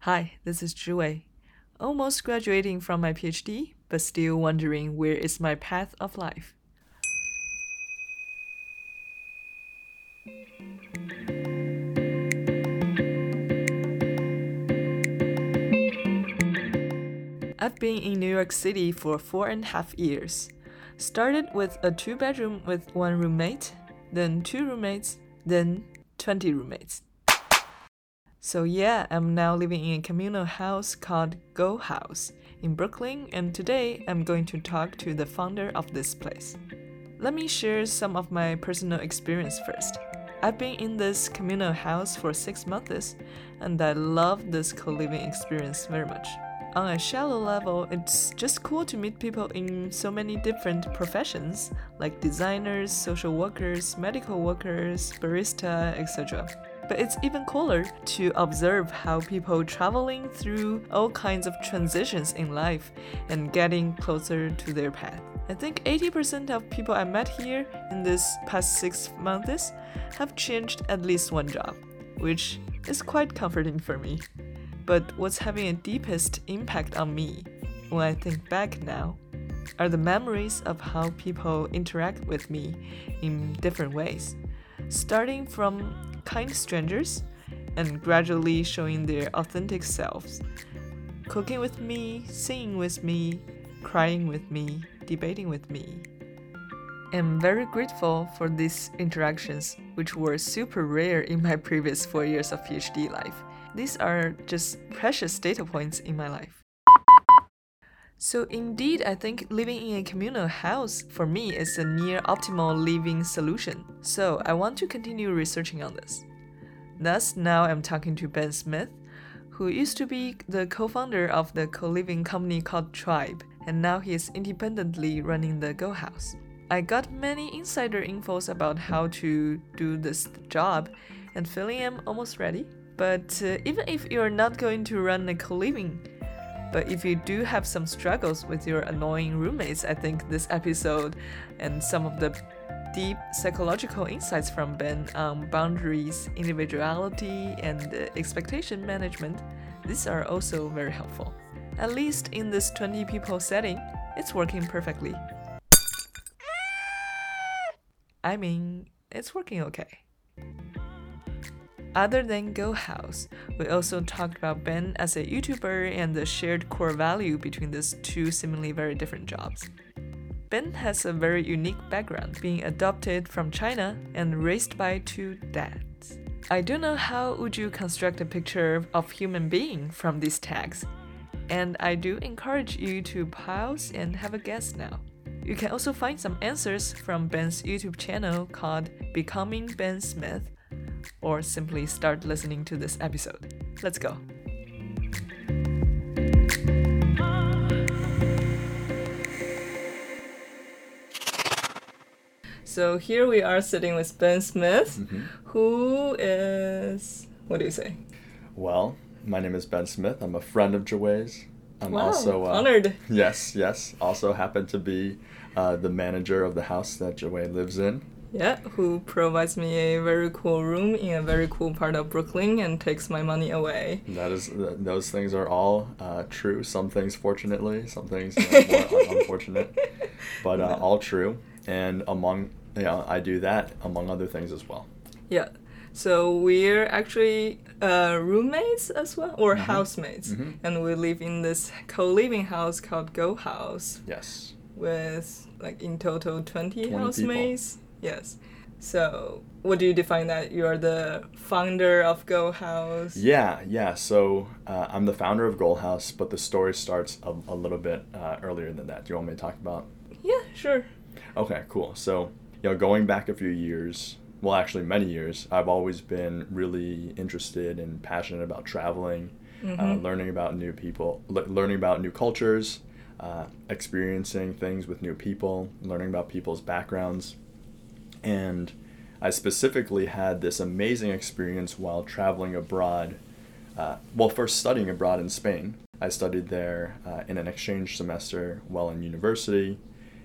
Hi, this is Zhiwei. Almost graduating from my PhD, but still wondering where is my path of life. I've been in New York City for 4.5 years. Started with a 2-bedroom with 1 roommate, then 2 roommates, then 20 roommates. So yeah, I'm now living in a communal house called Go House in Brooklyn, and today I'm going to talk to the founder of this place. Let me share some of my personal experience first. I've been in this communal house for 6 months, and I love this co-living experience very much. On a shallow level, it's just cool to meet people in so many different professions, like designers, social workers, medical workers, barista, etc. But it's even cooler to observe how people traveling through all kinds of transitions in life and getting closer to their path. I think 80% of people I met here in this past 6 months have changed at least one job, which is quite comforting for me. But what's having a deepest impact on me, when I think back now, are the memories of how people interact with me in different ways, starting from kind strangers and gradually showing their authentic selves, cooking with me, singing with me, crying with me, debating with me. I'm very grateful for these interactions, which were super rare in my previous 4 years of PhD life. These are just precious data points in my life. So indeed, I think living in a communal house for me is a near optimal living solution. So I want to continue researching on this. Thus, now I'm talking to Ben Smith, who used to be the co-founder of the co-living company called Tribe, and now he is independently running the Go House. I got many insider infos about how to do this job, and feeling I'm almost ready. But even if you're not going to run a co-living, but if you do have some struggles with your annoying roommates, I think this episode and some of the deep psychological insights from Ben on boundaries, individuality, and expectation management, these are also very helpful. At least in this 20 people setting, it's working perfectly. I mean, it's working okay. Other than Go House, we also talked about Ben as a YouTuber and the shared core value between these two seemingly very different jobs. Ben has a very unique background, being adopted from China and raised by 2 dads. I don't know how would you construct a picture of human being from these tags, and I do encourage you to pause and have a guess now. You can also find some answers from Ben's YouTube channel called Becoming Ben Smith, or simply start listening to this episode. Let's go. So here we are sitting with Ben Smith, who is, what do you say? Well, my name is Ben Smith. I'm a friend of Zhiwei's. I'm also honored. Yes. Also happen to be the manager of the house that Zhiwei lives in. Yeah, who provides me a very cool room in a very cool part of Brooklyn and takes my money away. Those things are all true. Some things fortunately, some things more unfortunate, but all true. And I do that among other things as well. Yeah, so we're actually roommates as well, or housemates, and we live in this co-living house called Go House. Yes. With in total 20 housemates. People. Yes. So, what do you define that? You're the founder of Go House? Yeah. So, I'm the founder of Go House, but the story starts a little bit earlier than that. Do you want me to talk about? Yeah, sure. Okay, cool. So, going back a few years, well, actually many years, I've always been really interested and passionate about traveling, learning about new people, learning about new cultures, experiencing things with new people, learning about people's backgrounds. And I specifically had this amazing experience while traveling abroad. First studying abroad in Spain. I studied there in an exchange semester while in university,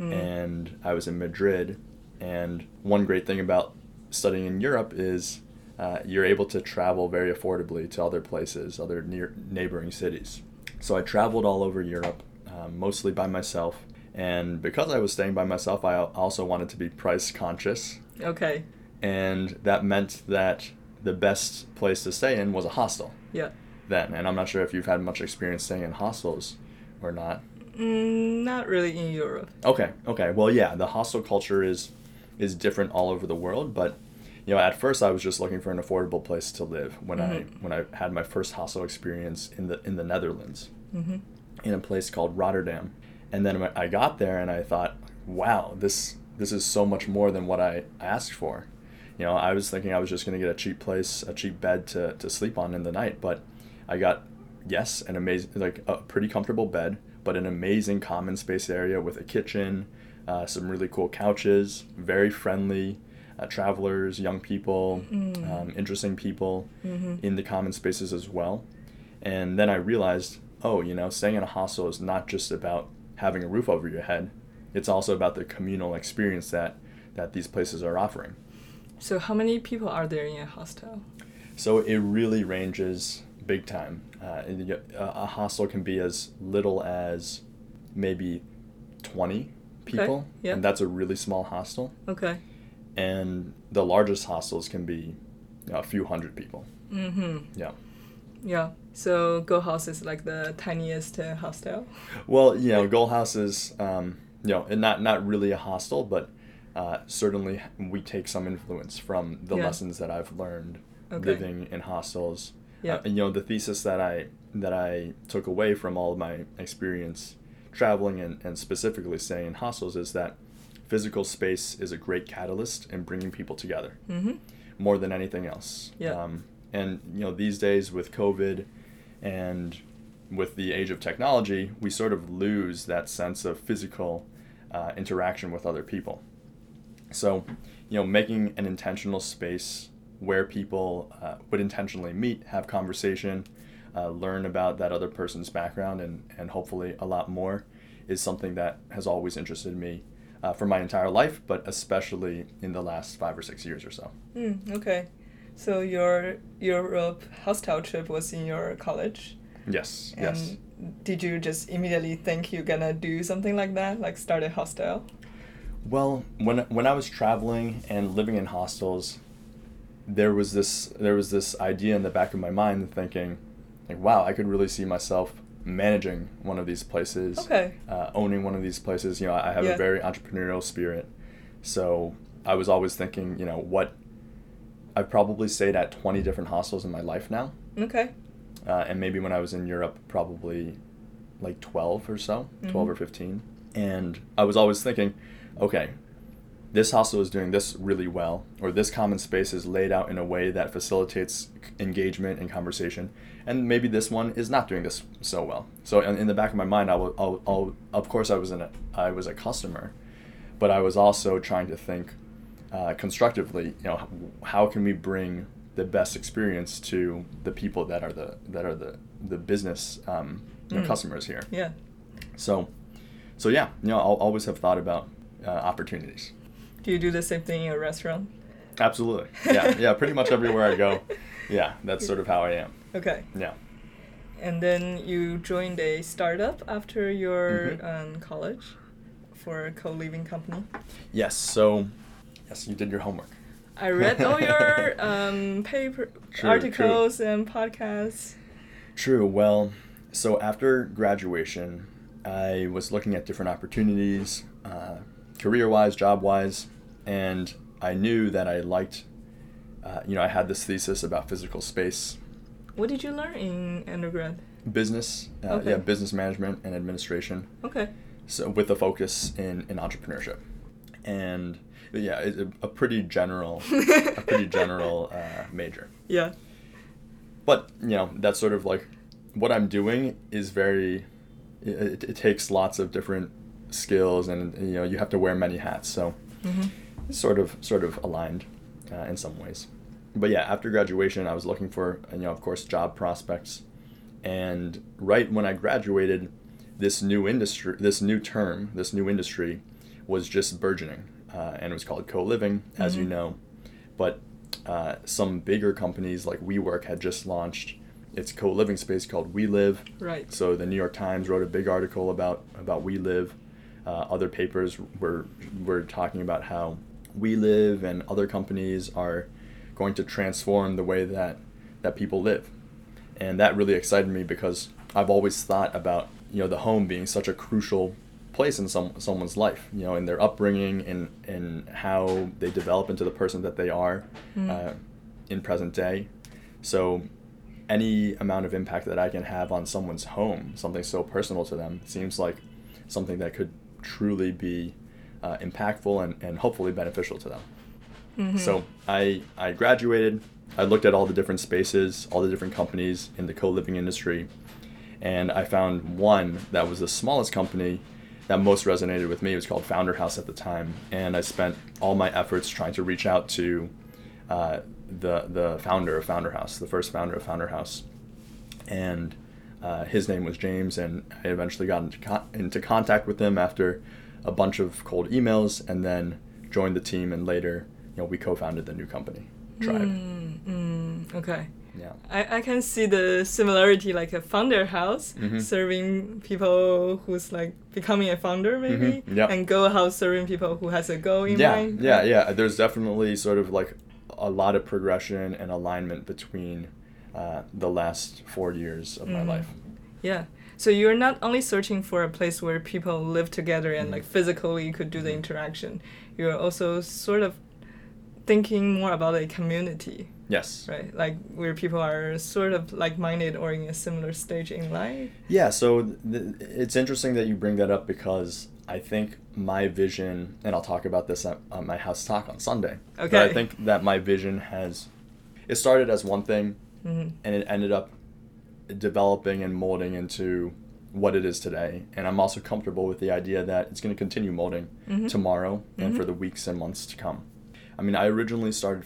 and I was in Madrid. And one great thing about studying in Europe is you're able to travel very affordably to other places, other neighboring cities. So I traveled all over Europe, mostly by myself. And because I was staying by myself, I also wanted to be price conscious. Okay. And that meant that the best place to stay in was a hostel. Yeah. Then, and I'm not sure if you've had much experience staying in hostels or not. Not really in Europe. Okay. Well, yeah, the hostel culture is different all over the world, but at first I was just looking for an affordable place to live when I had my first hostel experience in the Netherlands, in a place called Rotterdam. And then I got there and I thought, wow, this is so much more than what I asked for. I was thinking I was just going to get a cheap bed to sleep on in the night, but I got, yes, an amazing, like a pretty comfortable bed, but an amazing common space area with a kitchen, some really cool couches, very friendly travelers, young people, interesting people in the common spaces as well. And then I realized, staying in a hostel is not just about having a roof over your head. It's also about the communal experience that these places are offering. So how many people are there in a hostel? So it really ranges big time. A hostel can be as little as maybe 20 people, okay. Yeah. And that's a really small hostel. Okay. And the largest hostels can be a few hundred people. Yeah. Yeah. So Go House is like the tiniest hostel? Well, Go House is, not really a hostel, but certainly we take some influence from the lessons that I've learned living in hostels. Yeah. The thesis that I took away from all of my experience traveling and specifically staying in hostels is that physical space is a great catalyst in bringing people together more than anything else. Yeah. And these days with COVID and with the age of technology, we sort of lose that sense of physical interaction with other people. So, making an intentional space where people would intentionally meet, have conversation, learn about that other person's background, and hopefully a lot more, is something that has always interested me for my entire life, but especially in the last 5 or 6 years or so. Okay. So your Europe hostel trip was in your college? Yes. And did you just immediately think you're gonna do something like that, like start a hostel? Well, when I was traveling and living in hostels, there was this idea in the back of my mind thinking, like, wow, I could really see myself managing one of these places, owning one of these places. I have a very entrepreneurial spirit, so I was always thinking, I've probably stayed at 20 different hostels in my life now. Okay. And maybe when I was in Europe, probably like 12 or so, 12 or 15. And I was always thinking, okay, this hostel is doing this really well, or this common space is laid out in a way that facilitates engagement and conversation, and maybe this one is not doing this so well. So in the back of my mind, of course I was a customer, but I was also trying to think constructively. How can we bring the best experience to the people that are the business customers here? Yeah. So yeah, I'll always have thought about opportunities. Do you do the same thing in a restaurant? Absolutely. Yeah, pretty much everywhere I go. Yeah, that's sort of how I am. Okay. Yeah. And then you joined a startup after your college for a co-living company? Yes, so, you did your homework. I read all your articles and podcasts. True. Well, so after graduation, I was looking at different opportunities, career-wise, job-wise, and I knew that I liked, I had this thesis about physical space. What did you learn in undergrad? Business, business management and administration. Okay. So with a focus in entrepreneurship, and it's a pretty general, major. Yeah. But that's sort of like what I'm doing is very. It takes lots of different skills, and you have to wear many hats. So it's sort of aligned in some ways. But yeah, after graduation, I was looking for of course job prospects, and right when I graduated, this new industry was just burgeoning, and it was called co-living, as you know. But some bigger companies like WeWork had just launched its co-living space called WeLive. Right. So the New York Times wrote a big article about WeLive. Other papers were talking about how WeLive and other companies are going to transform the way that people live. And that really excited me because I've always thought about, the home being such a crucial place in someone's life, in their upbringing and how they develop into the person that they are in present day. So any amount of impact that I can have on someone's home, something so personal to them, seems like something that could truly be impactful and hopefully beneficial to them. Mm-hmm. So I graduated. I looked at all the different spaces, all the different companies in the co-living industry, and I found one that was the smallest company that most resonated with me. It was called Founder House at the time, and I spent all my efforts trying to reach out to the founder of Founder House, the first founder of Founder House, and his name was James, and I eventually got into contact with him after a bunch of cold emails, and then joined the team, and later, we co-founded the new company, Tribe. Okay. Yeah. I can see the similarity, like a founder house serving people who's like becoming a founder maybe, and Go House serving people who has a goal in mind. Yeah. There's definitely sort of like a lot of progression and alignment between the last 4 years of my life. Yeah. So you're not only searching for a place where people live together and like physically you could do the interaction, you're also sort of thinking more about a community. Yes. Right, like where people are sort of like-minded or in a similar stage in life. Yeah, so it's interesting that you bring that up because I think my vision, and I'll talk about this at my house talk on Sunday. Okay. But I think that my vision it started as one thing, and it ended up developing and molding into what it is today. And I'm also comfortable with the idea that it's going to continue molding tomorrow and for the weeks and months to come. I mean, I originally started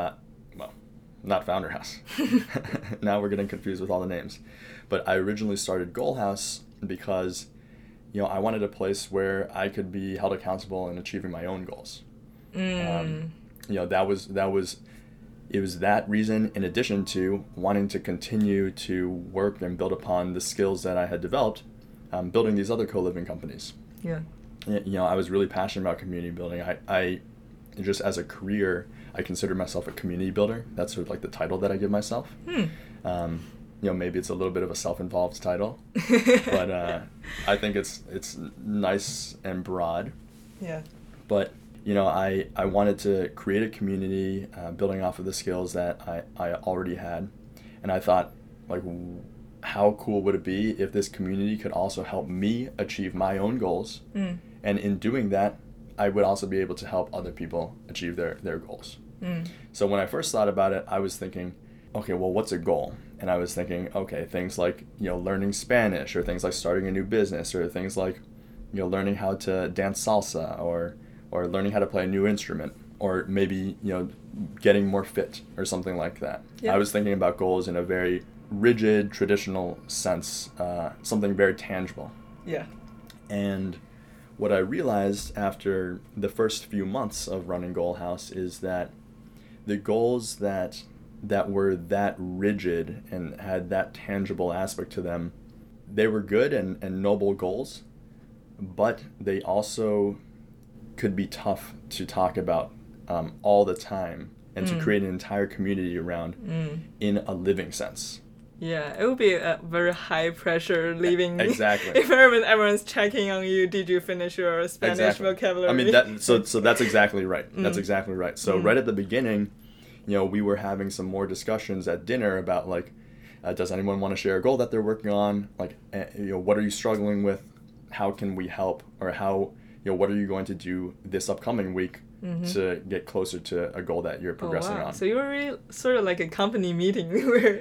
not Founder House. Now we're getting confused with all the names. But I originally started Goal House because, I wanted a place where I could be held accountable in achieving my own goals. It was that reason, in addition to wanting to continue to work and build upon the skills that I had developed, building these other co-living companies. Yeah. I was really passionate about community building. I just as a career, I consider myself a community builder. That's sort of like the title that I give myself. Maybe it's a little bit of a self-involved title, but I think it's nice and broad. Yeah. But I wanted to create a community, building off of the skills that I already had, and I thought, like, how cool would it be if this community could also help me achieve my own goals, and in doing that, I would also be able to help other people achieve their goals. So when I first thought about it, I was thinking, okay, well, what's a goal? And I was thinking, okay, things like, learning Spanish, or things like starting a new business, or things like, learning how to dance salsa, or learning how to play a new instrument, or maybe, getting more fit or something like that. Yeah. I was thinking about goals in a very rigid, traditional sense, something very tangible. Yeah. And what I realized after the first few months of running Goal House is that the goals that were that rigid and had that tangible aspect to them, they were good and noble goals, but they also could be tough to talk about all the time and to create an entire community around in a living sense. Yeah, it would be a very high pressure living exactly. environment. Everyone's checking on you. Did you finish your Spanish vocabulary? I mean, so that's exactly right. That's exactly right. So right at the beginning, we were having some more discussions at dinner about like, does anyone want to share a goal that they're working on? Like, what are you struggling with? How can we help? Or how, what are you going to do this upcoming week to get closer to a goal that you're progressing on? So you were really sort of like a company meeting where...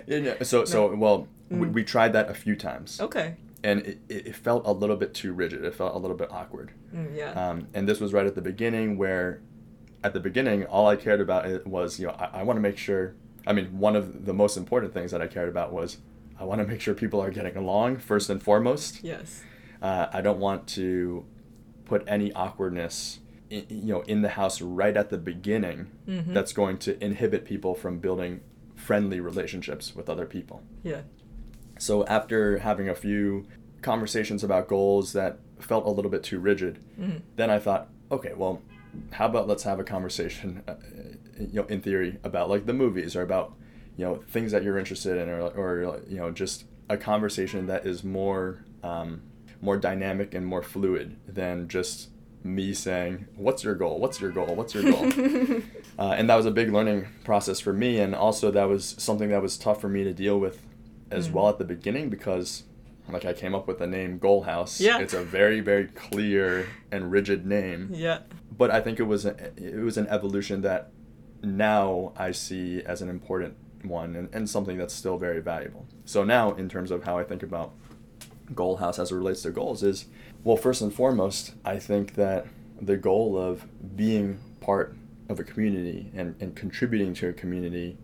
We tried that a few times. Okay. And it felt a little bit too rigid. It felt a little bit awkward. Yeah. And this was right at the beginning where, at the beginning, all I cared about was, I want to make sure, one of the most important things that I cared about was I want to make sure people are getting along, first and foremost. Yes. I don't want to put any awkwardness in the house right at the beginning, that's going to inhibit people from building friendly relationships with other people. Yeah. So after having a few conversations about goals that felt a little bit too rigid, then I thought, okay, well, how about let's have a conversation, in theory, about like the movies or about, things that you're interested in, or just a conversation that is more dynamic and more fluid than just me saying, what's your goal? What's your goal? What's your goal? And that was a big learning process for me. And also that was something that was tough for me to deal with as well at the beginning, because like I came up with the name Goal House. Yeah. It's a very, very clear and rigid name. Yeah. But I think it was an evolution that now I see as an important one, and something that's still very valuable. So now, in terms of how I think about Goal House as it relates to goals is, well, first and foremost, I think that the goal of being part of a community and contributing to a community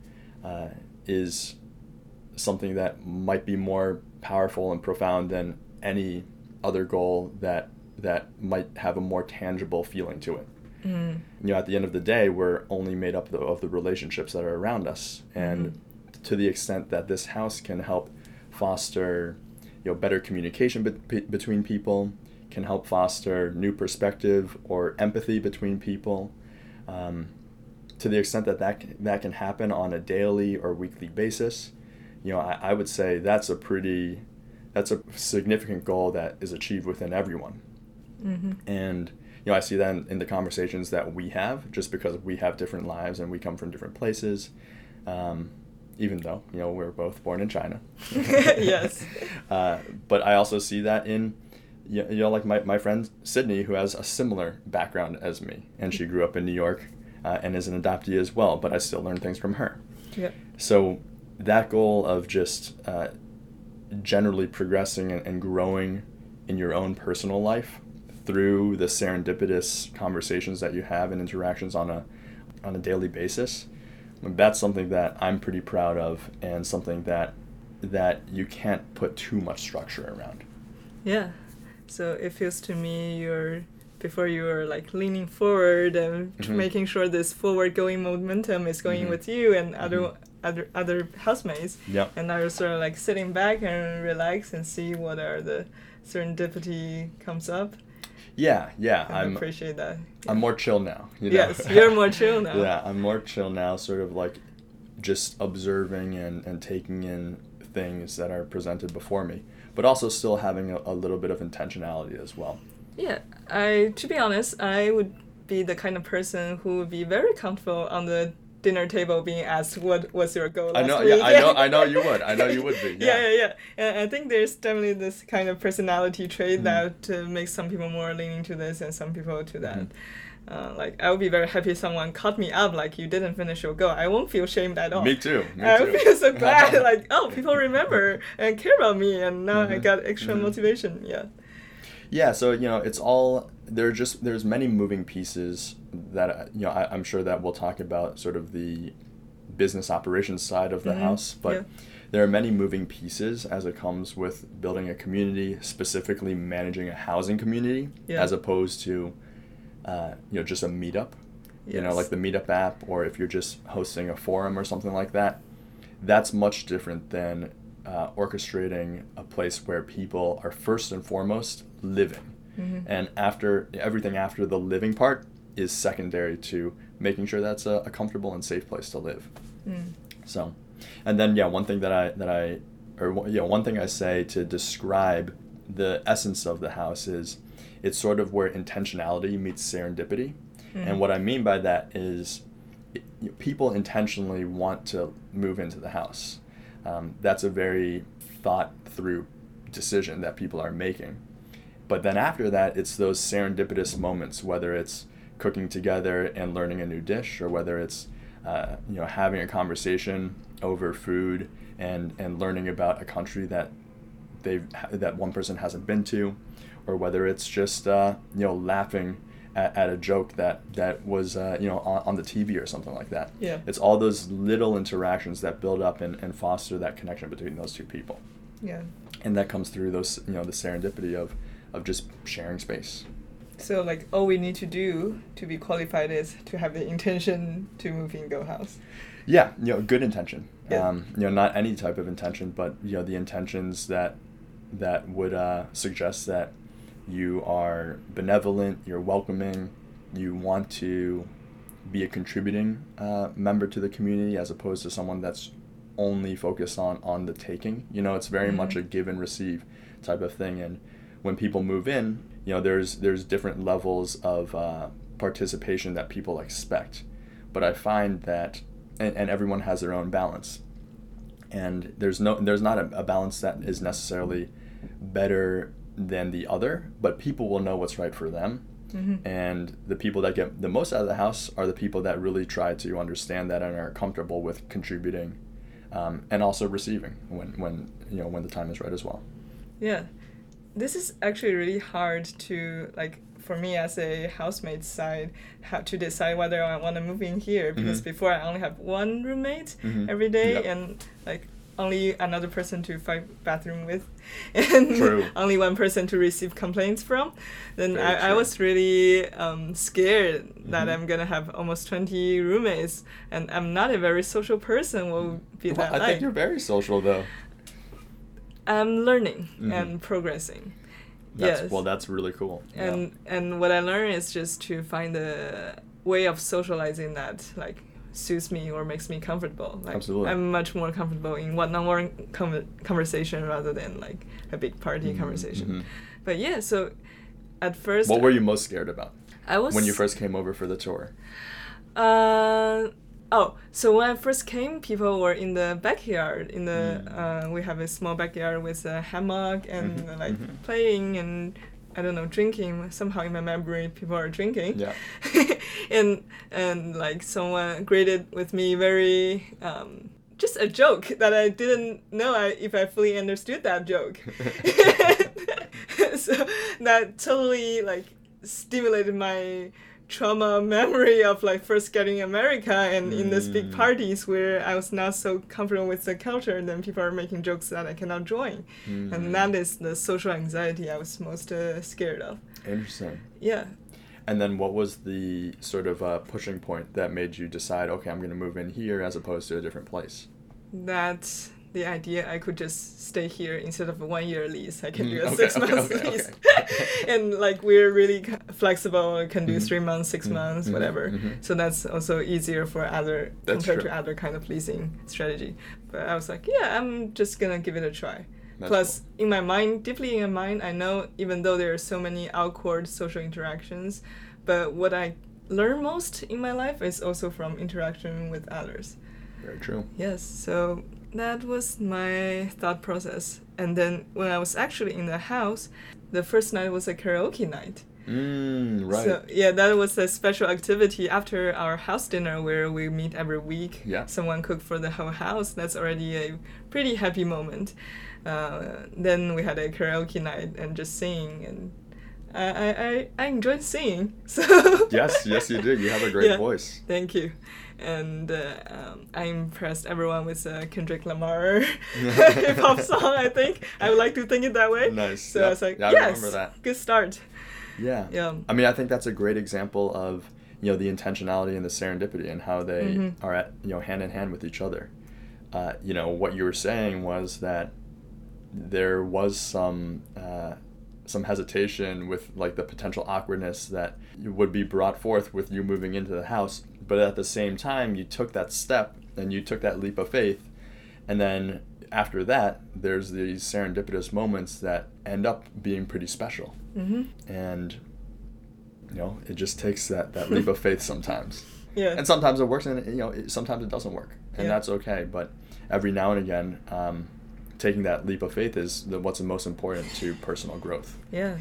is something that might be more powerful and profound than any other goal that might have a more tangible feeling to it. At the end of the day, we're only made up of the relationships that are around us. And to the extent that this house can help foster better communication between people, can help foster new perspective or empathy between people, to the extent that can happen on a daily or weekly basis, I would say that's a significant goal that is achieved within everyone. And I see that in the conversations that we have, just because we have different lives and we come from different places, even though we're both born in China. Yes. But I also see that in like my friend Sydney, who has a similar background as me, and she grew up in New York and is an adoptee as well, but I still learn things from her. Yeah. So that goal of just generally progressing and growing in your own personal life through the serendipitous conversations that you have and interactions on a daily basis, that's something that I'm pretty proud of, and something that you can't put too much structure around. Yeah. So it feels to me before you were like leaning forward and making sure this forward going momentum is going with you and other housemates. Yep. And now you're sort of like sitting back and relax and see what are the serendipity comes up. Yeah. I appreciate that. Yeah. I'm more chill now. Yes, you're more chill now. Yeah, I'm more chill now, sort of like just observing and taking in things that are presented before me, but also still having a little bit of intentionality as well. Yeah, to be honest, I would be the kind of person who would be very comfortable on the dinner table being asked what was your goal last week. I know you would. I know you would be. Yeah. And I think there's definitely this kind of personality trait that makes some people more leaning to this and some people to that. Like, I would be very happy if someone caught me up, like, you didn't finish your goal. I won't feel shamed at all. Me too. I would feel so glad, like, oh, people remember and care about me, and now I got extra motivation. Yeah. Yeah, so, it's all, there's many moving pieces that, I'm sure that we'll talk about sort of the business operations side of the house, but there are many moving pieces as it comes with building a community, specifically managing a housing community, as opposed to, just a meetup, like the Meetup app, or if you're just hosting a forum or something like that. That's much different than orchestrating a place where people are first and foremost living. And everything after the living part is secondary to making sure that's a comfortable and safe place to live. So, and then one thing one thing I say to describe the essence of the house is it's sort of where intentionality meets serendipity. And what I mean by that is people intentionally want to move into the house. That's a very thought through decision that people are making. But then after that, it's those serendipitous moments, whether it's cooking together and learning a new dish, or whether it's having a conversation over food and learning about a country that one person hasn't been to, or whether it's just laughing at a joke that was on the TV or something like that. Yeah. It's all those little interactions that build up and foster that connection between those two people. Yeah. And that comes through those the serendipity of just sharing space. So like all we need to do to be qualified is to have the intention to move in Go House. Yeah, good intention. Yeah. Not any type of intention, but the intentions that would suggest that you are benevolent, you're welcoming, you want to be a contributing member to the community as opposed to someone that's only focused on the taking. It's very much a give and receive type of thing. And when people move in, there's different levels of participation that people expect. But I find that, and everyone has their own balance. And there's not a balance that is necessarily better than the other, but people will know what's right for them. Mm-hmm. And the people that get the most out of the house are the people that really try to understand that and are comfortable with contributing, and also receiving when the time is right as well. Yeah, this is actually really hard to, like, for me as a housemate side, have to decide whether I want to move in here, because before I only have one roommate every day, and like only another person to fight bathroom with, and only one person to receive complaints from. Then I was really scared that I'm gonna have almost 20 roommates, and I'm not a very social person. What would be that like? I think you're very social though. I'm learning and progressing. Well, that's really cool. And what I learned is just to find a way of socializing that like suits me or makes me comfortable. Like, absolutely. I'm much more comfortable in one-on-one conversation rather than like a big party conversation. But yeah, so at first... What were you most scared about when you first came over for the tour? So when I first came, people were in the backyard. We have a small backyard with a hammock and playing and, I don't know, drinking. Somehow in my memory, people are drinking. Yeah. and like someone greeted with me very, just a joke that I didn't know if I fully understood that joke. So that totally like stimulated my trauma memory of like first getting America and in these big parties where I was not so comfortable with the culture, and then people are making jokes that I cannot join. And that is the social anxiety I was most scared of. Interesting. Yeah. And then what was the sort of pushing point that made you decide, okay, I'm going to move in here as opposed to a different place? That's the idea I could just stay here instead of a 1 year lease. I can do a 6 months lease. And like we're really flexible. I can do 3 months, 6 months, whatever. So that's also easier for compared to other kind of leasing strategy. But I was like, yeah, I'm just gonna give it a try. Plus, cool. Deeply in my mind, I know even though there are so many awkward social interactions, but what I learn most in my life is also from interaction with others. Very true. Yes, so that was my thought process. And then when I was actually in the house, the first night was a karaoke night. Right. So yeah, that was a special activity after our house dinner where we meet every week. Yeah. Someone cooked for the whole house. That's already a pretty happy moment. Then we had a karaoke night and just singing, and I enjoyed singing. So yes, you did. You have a great voice. Thank you. And I impressed everyone with Kendrick Lamar hip hop song. I think I would like to think it that way. Nice. So I was like, yes, I remember that. Good start. Yeah. I mean, I think that's a great example of the intentionality and the serendipity and how they are at hand in hand with each other. What you were saying was that there was some hesitation with like the potential awkwardness that would be brought forth with you moving into the house, but at the same time you took that step and you took that leap of faith, and then after that there's these serendipitous moments that end up being pretty special. And it just takes that leap of faith sometimes. Yeah. And sometimes it works, and sometimes it doesn't work, and that's okay. But every now and again, taking that leap of faith is what's most important to personal growth. Yeah.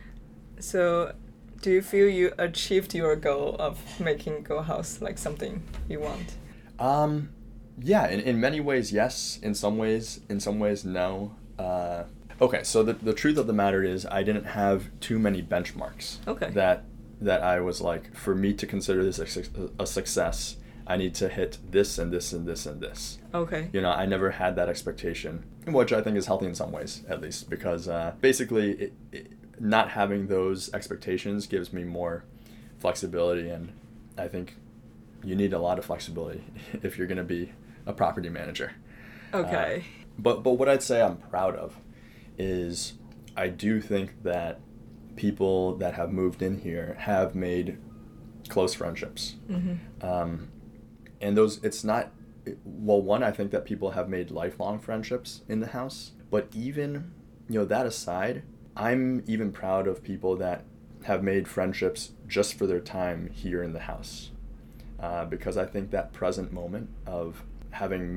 So, do you feel you achieved your goal of making Go House like something you want? Yeah. In many ways, yes. In some ways, no. Okay. So the truth of the matter is, I didn't have too many benchmarks. Okay. That I was like, for me to consider this a success, I need to hit this and this and this and this. Okay. I never had that expectation, which I think is healthy in some ways, at least, because basically not having those expectations gives me more flexibility, and I think you need a lot of flexibility if you're going to be a property manager. Okay. But what I'd say I'm proud of is I do think that people that have moved in here have made close friendships. And those, it's not, well, one, I think that people have made lifelong friendships in the house, but even, that aside, I'm even proud of people that have made friendships just for their time here in the house. Because I think that present moment of having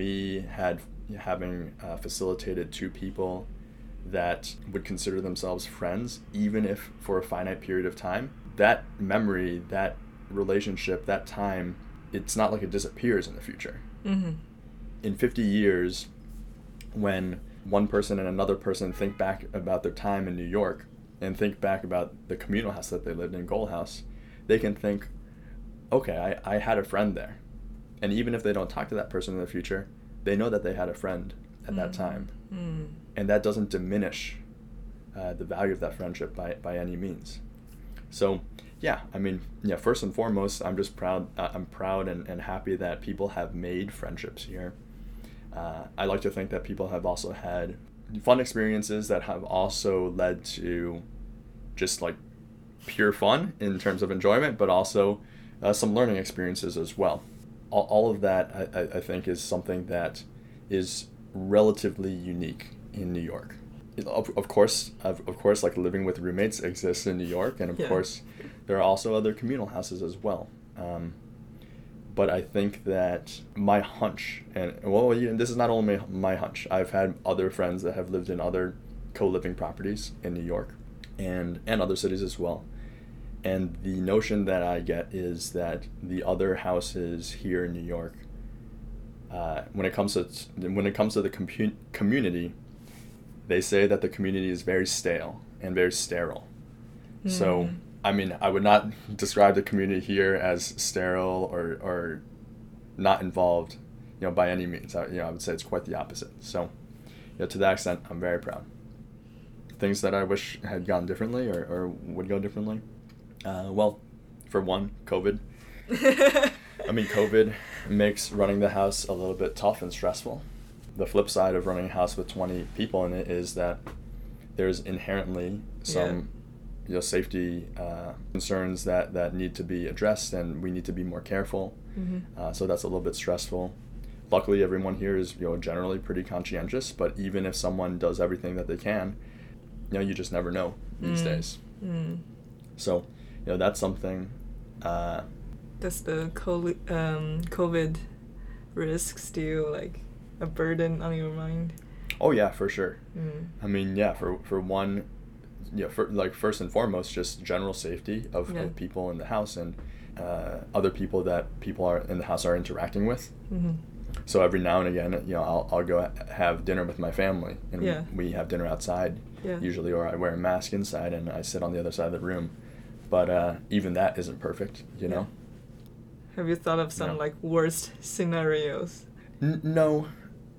facilitated two people that would consider themselves friends, even if for a finite period of time, that memory, that relationship, that time, it's not like it disappears in the future. In 50 years, when one person and another person think back about their time in New York and think back about the communal house that they lived in, Goal House, they can think, okay, I had a friend there. And even if they don't talk to that person in the future, they know that they had a friend at that time. And that doesn't diminish the value of that friendship by any means. So, first and foremost, I'm just proud. I'm proud and happy that people have made friendships here. I like to think that people have also had fun experiences that have also led to just like pure fun in terms of enjoyment, but also some learning experiences as well. All of that, I think, is something that is relatively unique in New York. Of course, like living with roommates exists in New York, and of course, there are also other communal houses as well. But I think that my hunch, this is not only my hunch, I've had other friends that have lived in other co-living properties in New York and other cities as well. And the notion that I get is that the other houses here in New York, when it comes to the community, they say that the community is very stale and very sterile. So, I would not describe the community here as sterile or not involved, by any means. I would say it's quite the opposite. So, to that extent, I'm very proud. Things that I wish had gone differently or would go differently. For one, COVID. COVID makes running the house a little bit tough and stressful. The flip side of running a house with 20 people in it is that there's inherently some safety concerns that need to be addressed, and we need to be more careful. So that's a little bit stressful. Luckily, everyone here is generally pretty conscientious, but even if someone does everything that they can, you just never know these days. So that's something. Does the COVID risk still like a burden on your mind? Oh yeah, for sure. For one, first and foremost, just general safety of people in the house and other people that people are in the house are interacting with. So every now and again, I'll go have dinner with my family, and we have dinner outside usually, or I wear a mask inside and I sit on the other side of the room. But even that isn't perfect, know. Have you thought of some like worst scenarios? No.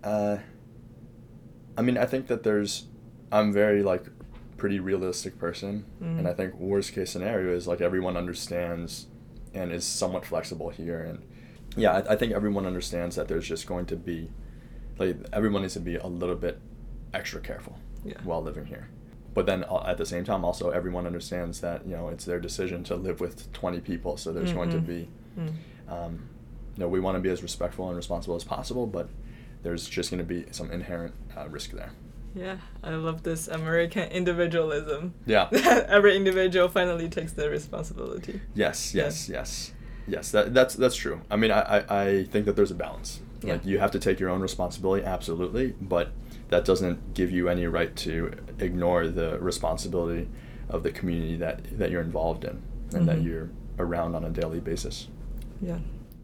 I think that I'm very pretty realistic person, and I think worst case scenario is everyone understands and is somewhat flexible here, and I think everyone understands that there's just going to be everyone needs to be a little bit extra careful while living here. But then at the same time, also everyone understands that it's their decision to live with 20 people, so there's going to be we want to be as respectful and responsible as possible, but there's just going to be some inherent risk there. Yeah, I love this American individualism. Yeah. Every individual finally takes their responsibility. Yes. That's true. I think that there's a balance. You have to take your own responsibility, absolutely, but that doesn't give you any right to ignore the responsibility of the community that you're involved in and that you're around on a daily basis. Yeah.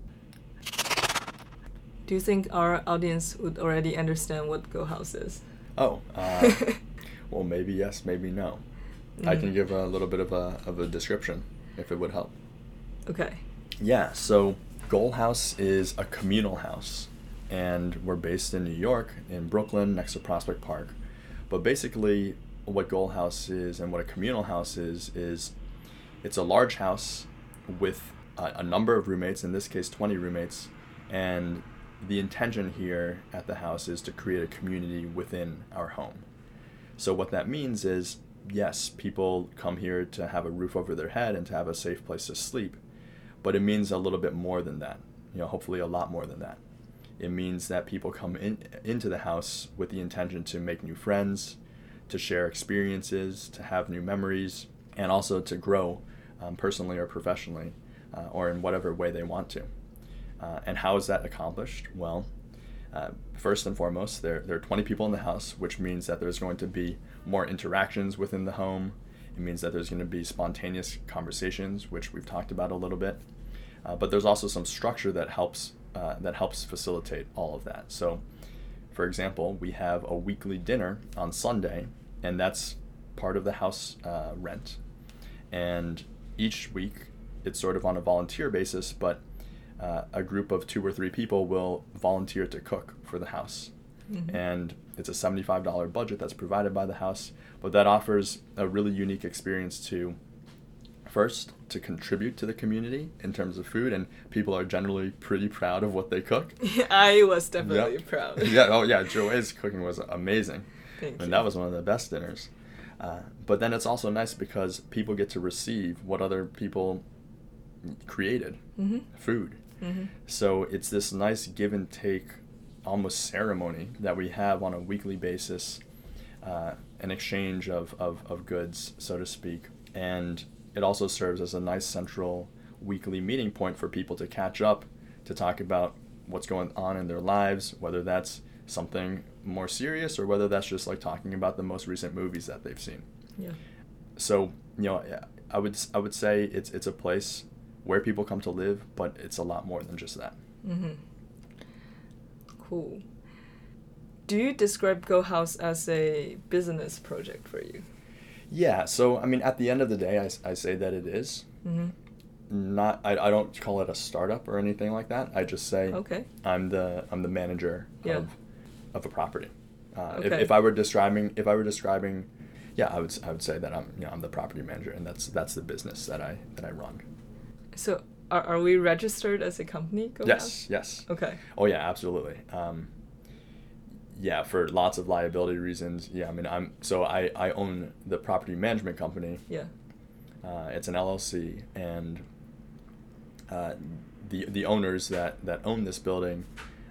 Do you think our audience would already understand what Goal House is? Well, maybe yes, maybe no. I can give a little bit of a description if it would help. Okay. Yeah, so Goal House is a communal house, and we're based in New York, in Brooklyn, next to Prospect Park. But basically, what Goal House is and what a communal house is it's a large house with a number of roommates, in this case 20 roommates, and the intention here at the house is to create a community within our home. So what that means is, yes, people come here to have a roof over their head and to have a safe place to sleep, but it means a little bit more than that, hopefully a lot more than that. It means that people come into the house with the intention to make new friends, to share experiences, to have new memories, and also to grow personally or professionally, or in whatever way they want to. And how is that accomplished? Well, first and foremost, there are 20 people in the house, which means that there's going to be more interactions within the home. It means that there's going to be spontaneous conversations, which we've talked about a little bit. But there's also some structure that helps facilitate all of that. So, for example, we have a weekly dinner on Sunday, and that's part of the house rent. And each week, it's sort of on a volunteer basis, but a group of 2 or 3 people will volunteer to cook for the house. Mm-hmm. And it's a $75 budget that's provided by the house, but that offers a really unique experience to contribute to the community in terms of food, and people are generally pretty proud of what they cook. I was definitely proud. Joanne's cooking was amazing. Thank you. That was one of the best dinners. But then it's also nice because people get to receive what other people created, mm-hmm. food. Mm-hmm. So it's this nice give and take, almost ceremony that we have on a weekly basis, an exchange of goods, so to speak. And it also serves as a nice central weekly meeting point for people to catch up, to talk about what's going on in their lives, whether that's something more serious or whether that's just like talking about the most recent movies that they've seen. Yeah. So, I would say it's a place where people come to live, but it's a lot more than just that. Mm-hmm. Cool. Do you describe Goal House as a business project for you? Yeah, so at the end of the day, I say that it is. Mm-hmm. I don't call it a startup or anything like that. I just say I'm the manager of a property. If I were describing, I would say that I'm the property manager, and that's the business that I run. So are we registered as a company? Goal House? Yes. Okay. Oh yeah, absolutely. For lots of liability reasons. Yeah, I own the property management company. Yeah. It's an LLC, and the owners that own this building,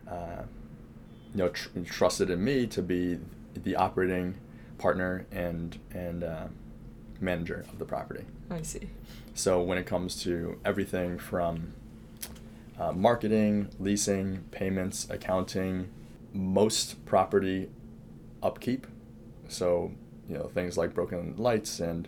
trusted in me to be the operating partner and manager of the property. I see. So when it comes to everything from marketing, leasing, payments, accounting, most property upkeep, so things like broken lights and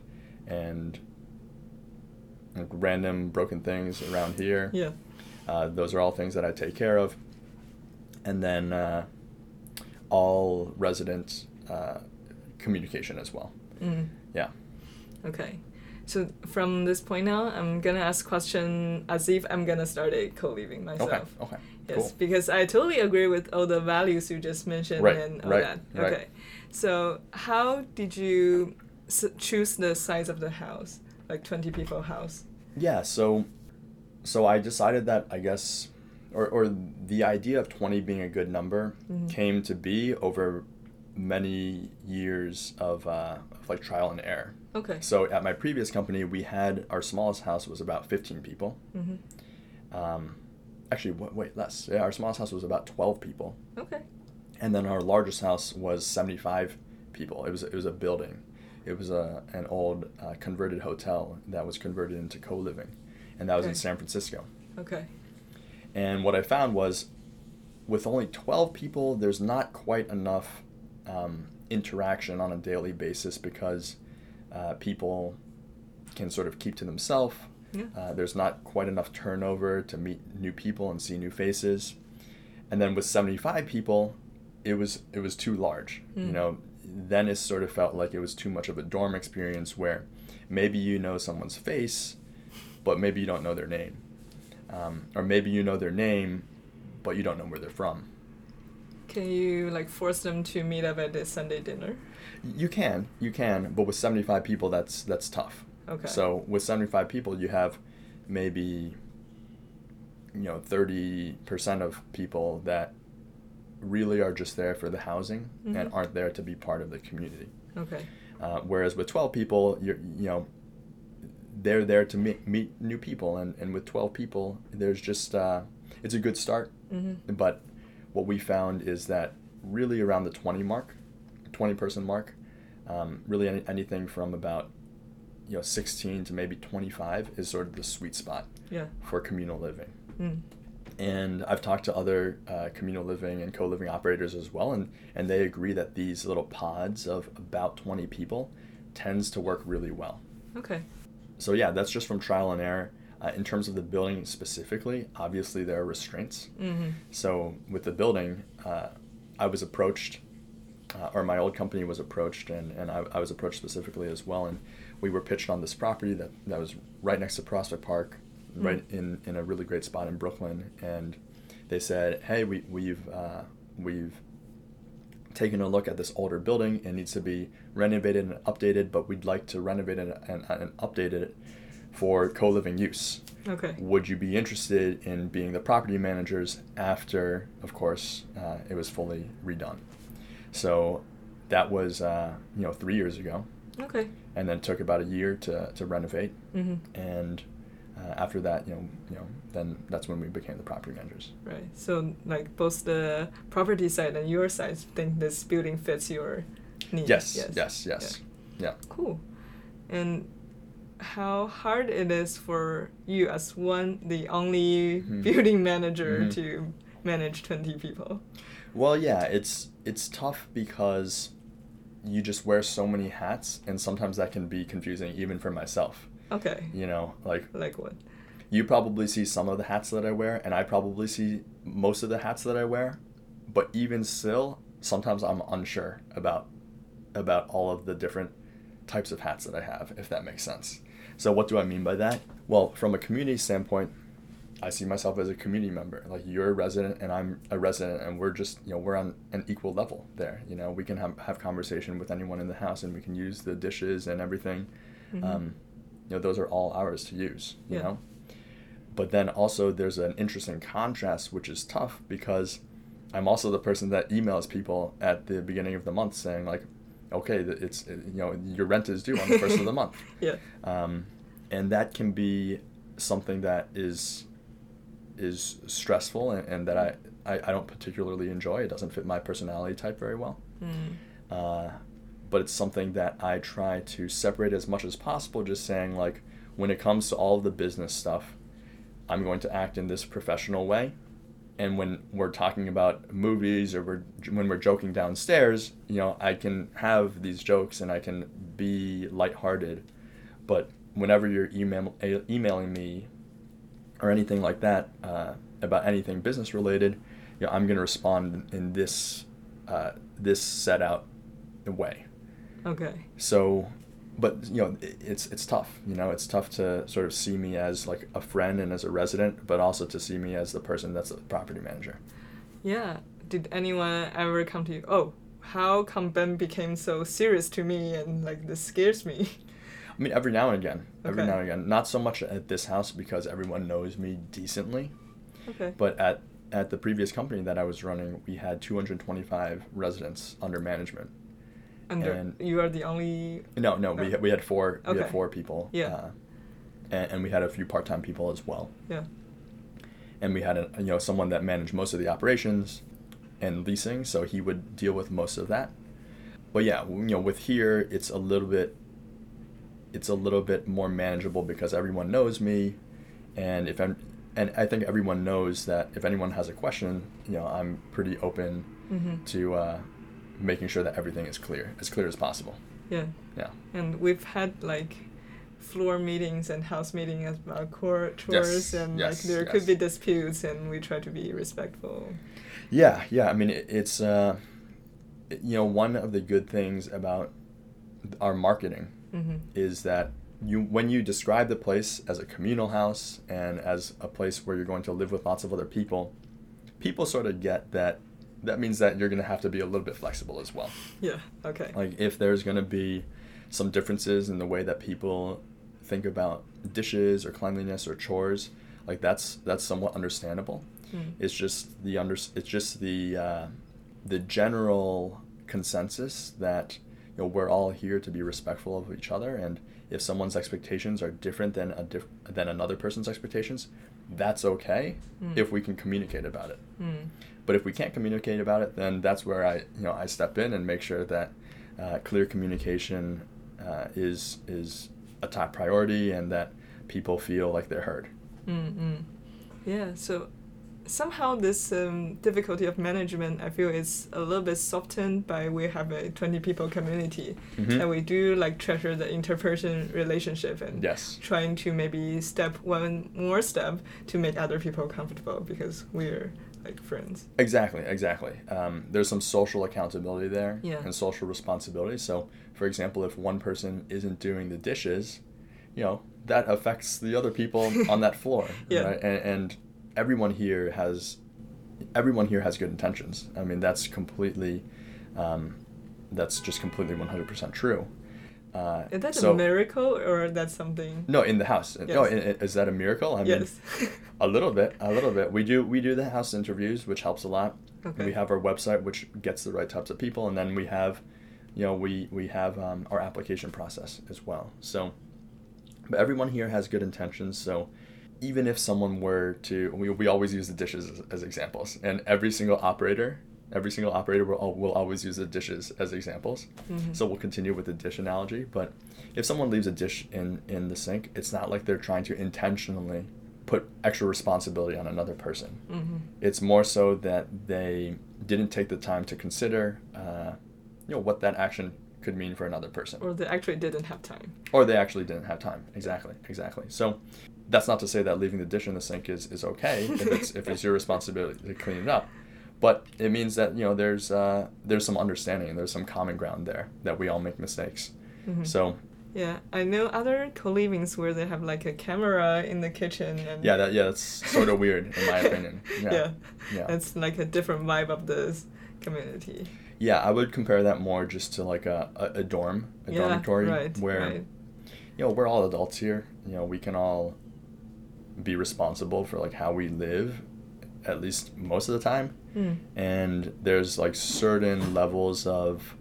like random broken things around here. Yeah. Those are all things that I take care of. And then all resident communication as well. Mm. Yeah. Okay. So from this point now, I'm going to ask question as if I'm going to start a co-living myself. Okay. Yes, cool. Because I totally agree with all the values you just mentioned and all that. Right. Okay. So how did you choose the size of the house, like 20 people house? Yeah, so I decided that, I guess, or the idea of 20 being a good number mm-hmm. came to be over many years of like trial and error. Okay. So at my previous company, we had, our smallest house was about 15 people. Mm-hmm. Actually, wait, less. Yeah, our smallest house was about 12 people. Okay. And then our largest house was 75 people. It was a building. It was an old converted hotel that was converted into co-living, and that was in San Francisco. Okay. And what I found was, with only 12 people, there's not quite enough interaction on a daily basis because people can sort of keep to themselves. Yeah. There's not quite enough turnover to meet new people and see new faces. And then with 75 people, it was too large. Mm. Then it sort of felt like it was too much of a dorm experience where maybe you know someone's face, but maybe you don't know their name. Or maybe you know their name, but you don't know where they're from. Can you like force them to meet up at the Sunday dinner? You can, but with 75 people, that's tough. Okay. So with 75 people, you have maybe 30% of people that really are just there for the housing and aren't there to be part of the community. Okay. Whereas with 12 people, they're there to meet new people, and with 12 people, there's just it's a good start. But what we found is that really around the 20 person mark, really anything from about 16 to maybe 25 is sort of the sweet spot for communal living. And I've talked to other communal living and co-living operators as well, and they agree that these little pods of about 20 people tends to work really well. Okay. So yeah, that's just from trial and error. In terms of the building specifically, obviously there are restraints. So with the building, I was approached, or my old company was approached, and I was approached specifically as well, and we were pitched on this property that was right next to Prospect Park, right in a really great spot in Brooklyn, and they said, hey, we've taken a look at this older building. It needs to be renovated and updated, but we'd like to renovate it and update it for co-living use. Okay. Would you be interested in being the property managers after, of course, it was fully redone? So that was 3 years ago. Okay. And then took about a year to renovate, and after that, then that's when we became the property managers. Right. So like both the property side and your side think this building fits your needs. Yes. Yeah. Cool. And how hard it is for you as the only building manager to manage 20 people? Well, yeah, it's tough because you just wear so many hats, and sometimes that can be confusing even for myself. Okay. Like what? You probably see some of the hats that I wear, and I probably see most of the hats that I wear, but even still, sometimes I'm unsure about all of the different types of hats that I have, if that makes sense. So what do I mean by that? Well, from a community standpoint, I see myself as a community member. Like, you're a resident and I'm a resident, and we're just, we're on an equal level there. We can have conversation with anyone in the house, and we can use the dishes and everything. Those are all ours to use, you know? But then also there's an interesting contrast, which is tough because I'm also the person that emails people at the beginning of the month saying, like, okay, it's your rent is due on the first of the month. Yeah. And that can be something that is stressful and that I don't particularly enjoy. It doesn't fit my personality type very well. But it's something that I try to separate as much as possible, just saying, like, when it comes to all of the business stuff, I'm going to act in this professional way. And when we're talking about movies or when we're joking downstairs, I can have these jokes and I can be lighthearted. But whenever you're emailing me or anything like that about anything business related, I'm going to respond in this set out way. Okay. So, but it's tough. It's tough to sort of see me as like a friend and as a resident, but also to see me as the person that's a property manager. Yeah. Did anyone ever come to you? Oh, how come Ben became so serious to me and like this scares me? I mean, every now and again. Not so much at this house because everyone knows me decently. Okay. But at the previous company that I was running, we had 225 residents under management. And you are the only... No. We had four. Okay. We had 4 people. Yeah. And we had a few part-time people as well. Yeah. And we had someone that managed most of the operations and leasing, so he would deal with most of that. But yeah, with here it's a little bit more manageable because everyone knows me, and I think everyone knows that if anyone has a question, I'm pretty open to making sure that everything is as clear as possible. Yeah. And we've had like floor meetings and house meetings about core chores, and there could be disputes, and we try to be respectful. Yeah. I mean, it's one of the good things about our marketing is that when you describe the place as a communal house and as a place where you're going to live with lots of other people sort of get that that means that you're going to have to be a little bit flexible as well. Yeah, okay. Like if there's going to be some differences in the way that people think about dishes or cleanliness or chores, like that's somewhat understandable. It's just the general consensus that, you know, we're all here to be respectful of each other, and if someone's expectations are different than another person's expectations, that's okay if we can communicate about it. But if we can't communicate about it, then that's where I step in and make sure that clear communication is a top priority, and that people feel like they're heard. Yeah, so somehow this difficulty of management, I feel, is a little bit softened by we have a 20 people community, and we do like treasure the interperson relationship and trying to maybe step one more step to make other people comfortable because we're like friends. Exactly. There's some social accountability there and social responsibility. So, for example, if one person isn't doing the dishes, you know, that affects the other people on that floor, right? And everyone here has good intentions. I mean, that's just completely 100% true. Is that a miracle, or that's something? No, in the house. Yes. No, is that a miracle? I mean, yes. a little bit. We do the house interviews, which helps a lot. Okay. We have our website, which gets the right types of people, and then we have, you know, we have our application process as well. So, but everyone here has good intentions. So, even if someone were to, we always use the dishes as examples, and every single operator will always use the dishes as examples. So we'll continue with the dish analogy. But if someone leaves a dish in the sink, it's not like they're trying to intentionally put extra responsibility on another person. It's more so that they didn't take the time to consider, you know, what that action could mean for another person. Or they actually didn't have time. Exactly. So that's not to say that leaving the dish in the sink is okay if it's your responsibility to clean it up. But it means that, you know, there's some understanding and there's some common ground there that we all make mistakes. So yeah, I know other co-livings where they have like a camera in the kitchen and that's sort of weird in my opinion. Yeah. It's like a different vibe of this community. Yeah, I would compare that more just to like a dormitory where you know, we're all adults here. You know, we can all be responsible for like how we live, at least most of the time. And there's like certain levels of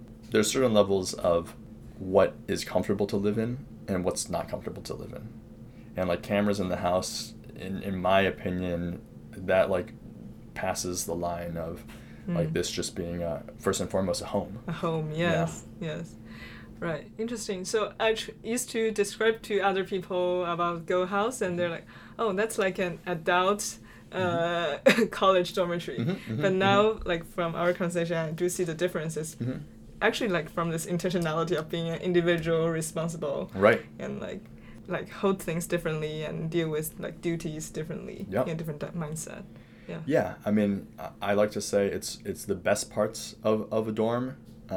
what is comfortable to live in and what's not comfortable to live in. And like cameras in the house, in my opinion, that like passes the line of like this just being first and foremost a home. A home, yes. Right, interesting. So I used to describe to other people about Go House, and they're like, oh, that's like an adult college dormitory. But now, like from our conversation, I do see the differences. Actually, like from this intentionality of being an individual, responsible, right, and like hold things differently and deal with like duties differently, in different mindset. Yeah. I mean, I like to say it's the best parts of a dorm,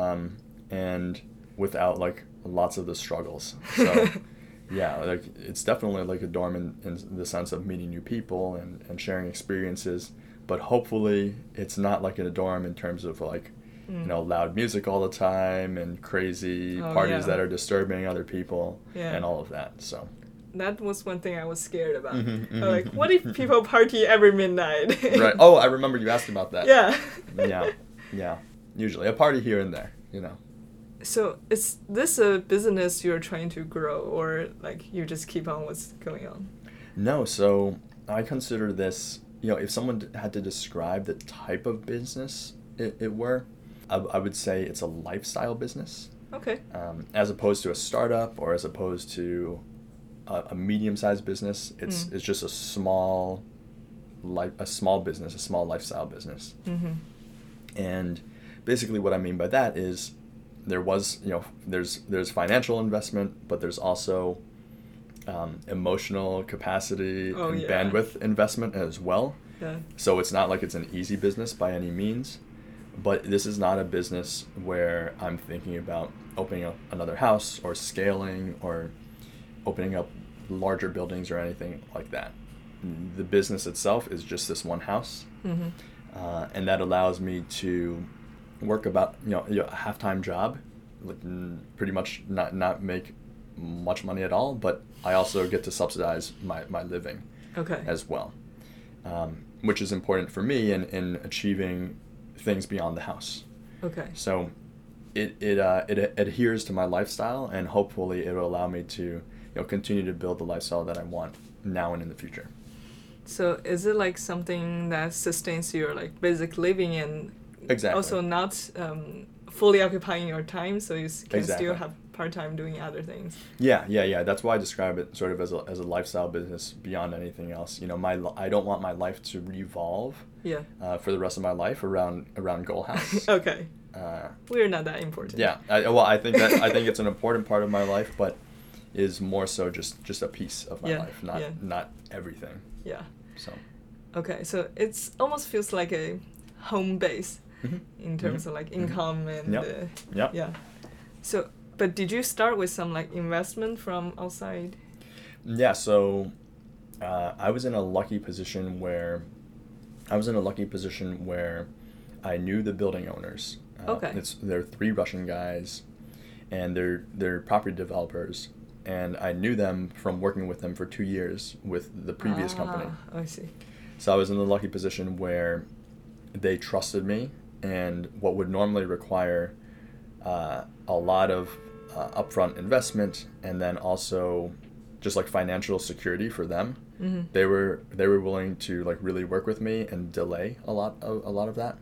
and without like lots of the struggles. So. Yeah, like it's definitely like a dorm in the sense of meeting new people and sharing experiences, but hopefully it's not like in a dorm in terms of like, you know, loud music all the time and crazy parties that are disturbing other people and all of that. So that was one thing I was scared about. Like, what if people party every midnight? Right. Oh, I remember you asked about that. Yeah. Yeah. Usually a party here and there, you know. So is this a business you're trying to grow, or like you just keep on what's going on? No, so I consider this, you know, if someone had to describe the type of business it were, I would say it's a lifestyle business. Okay. As opposed to a startup or as opposed to a medium-sized business, it's just a small business, a small lifestyle business. And basically what I mean by that is there's financial investment, but there's also emotional capacity and bandwidth investment as well. Yeah. So it's not like it's an easy business by any means, but this is not a business where I'm thinking about opening up another house or scaling or opening up larger buildings or anything like that. The business itself is just this one house. and that allows me to work about a half-time job, like pretty much not make much money at all, but I also get to subsidize my living as well, which is important for me in achieving things beyond the house. Okay. So it adheres to my lifestyle, and hopefully it will allow me to continue to build the lifestyle that I want now and in the future. So is it like something that sustains your like basic living and exactly. also not fully occupying your time, so you can exactly. still have part-time doing other things? Yeah. That's why I describe it sort of as a lifestyle business beyond anything else. I don't want my life to revolve for the rest of my life around Goalhouse. Okay. We're not that important. Yeah. I think it's an important part of my life, but is more so just a piece of my life, not everything. Yeah. So. Okay, so it's almost feels like a home base in terms of like income and yeah. So, but did you start with some like investment from outside? Yeah. So, I was in a lucky position where I knew the building owners. They're 3 Russian guys, and they're property developers. And I knew them from working with them for 2 years with the previous company. I see. So I was in the lucky position where they trusted me, and what would normally require a lot of upfront investment and then also just like financial security for them, they were willing to like really work with me and delay a lot of that.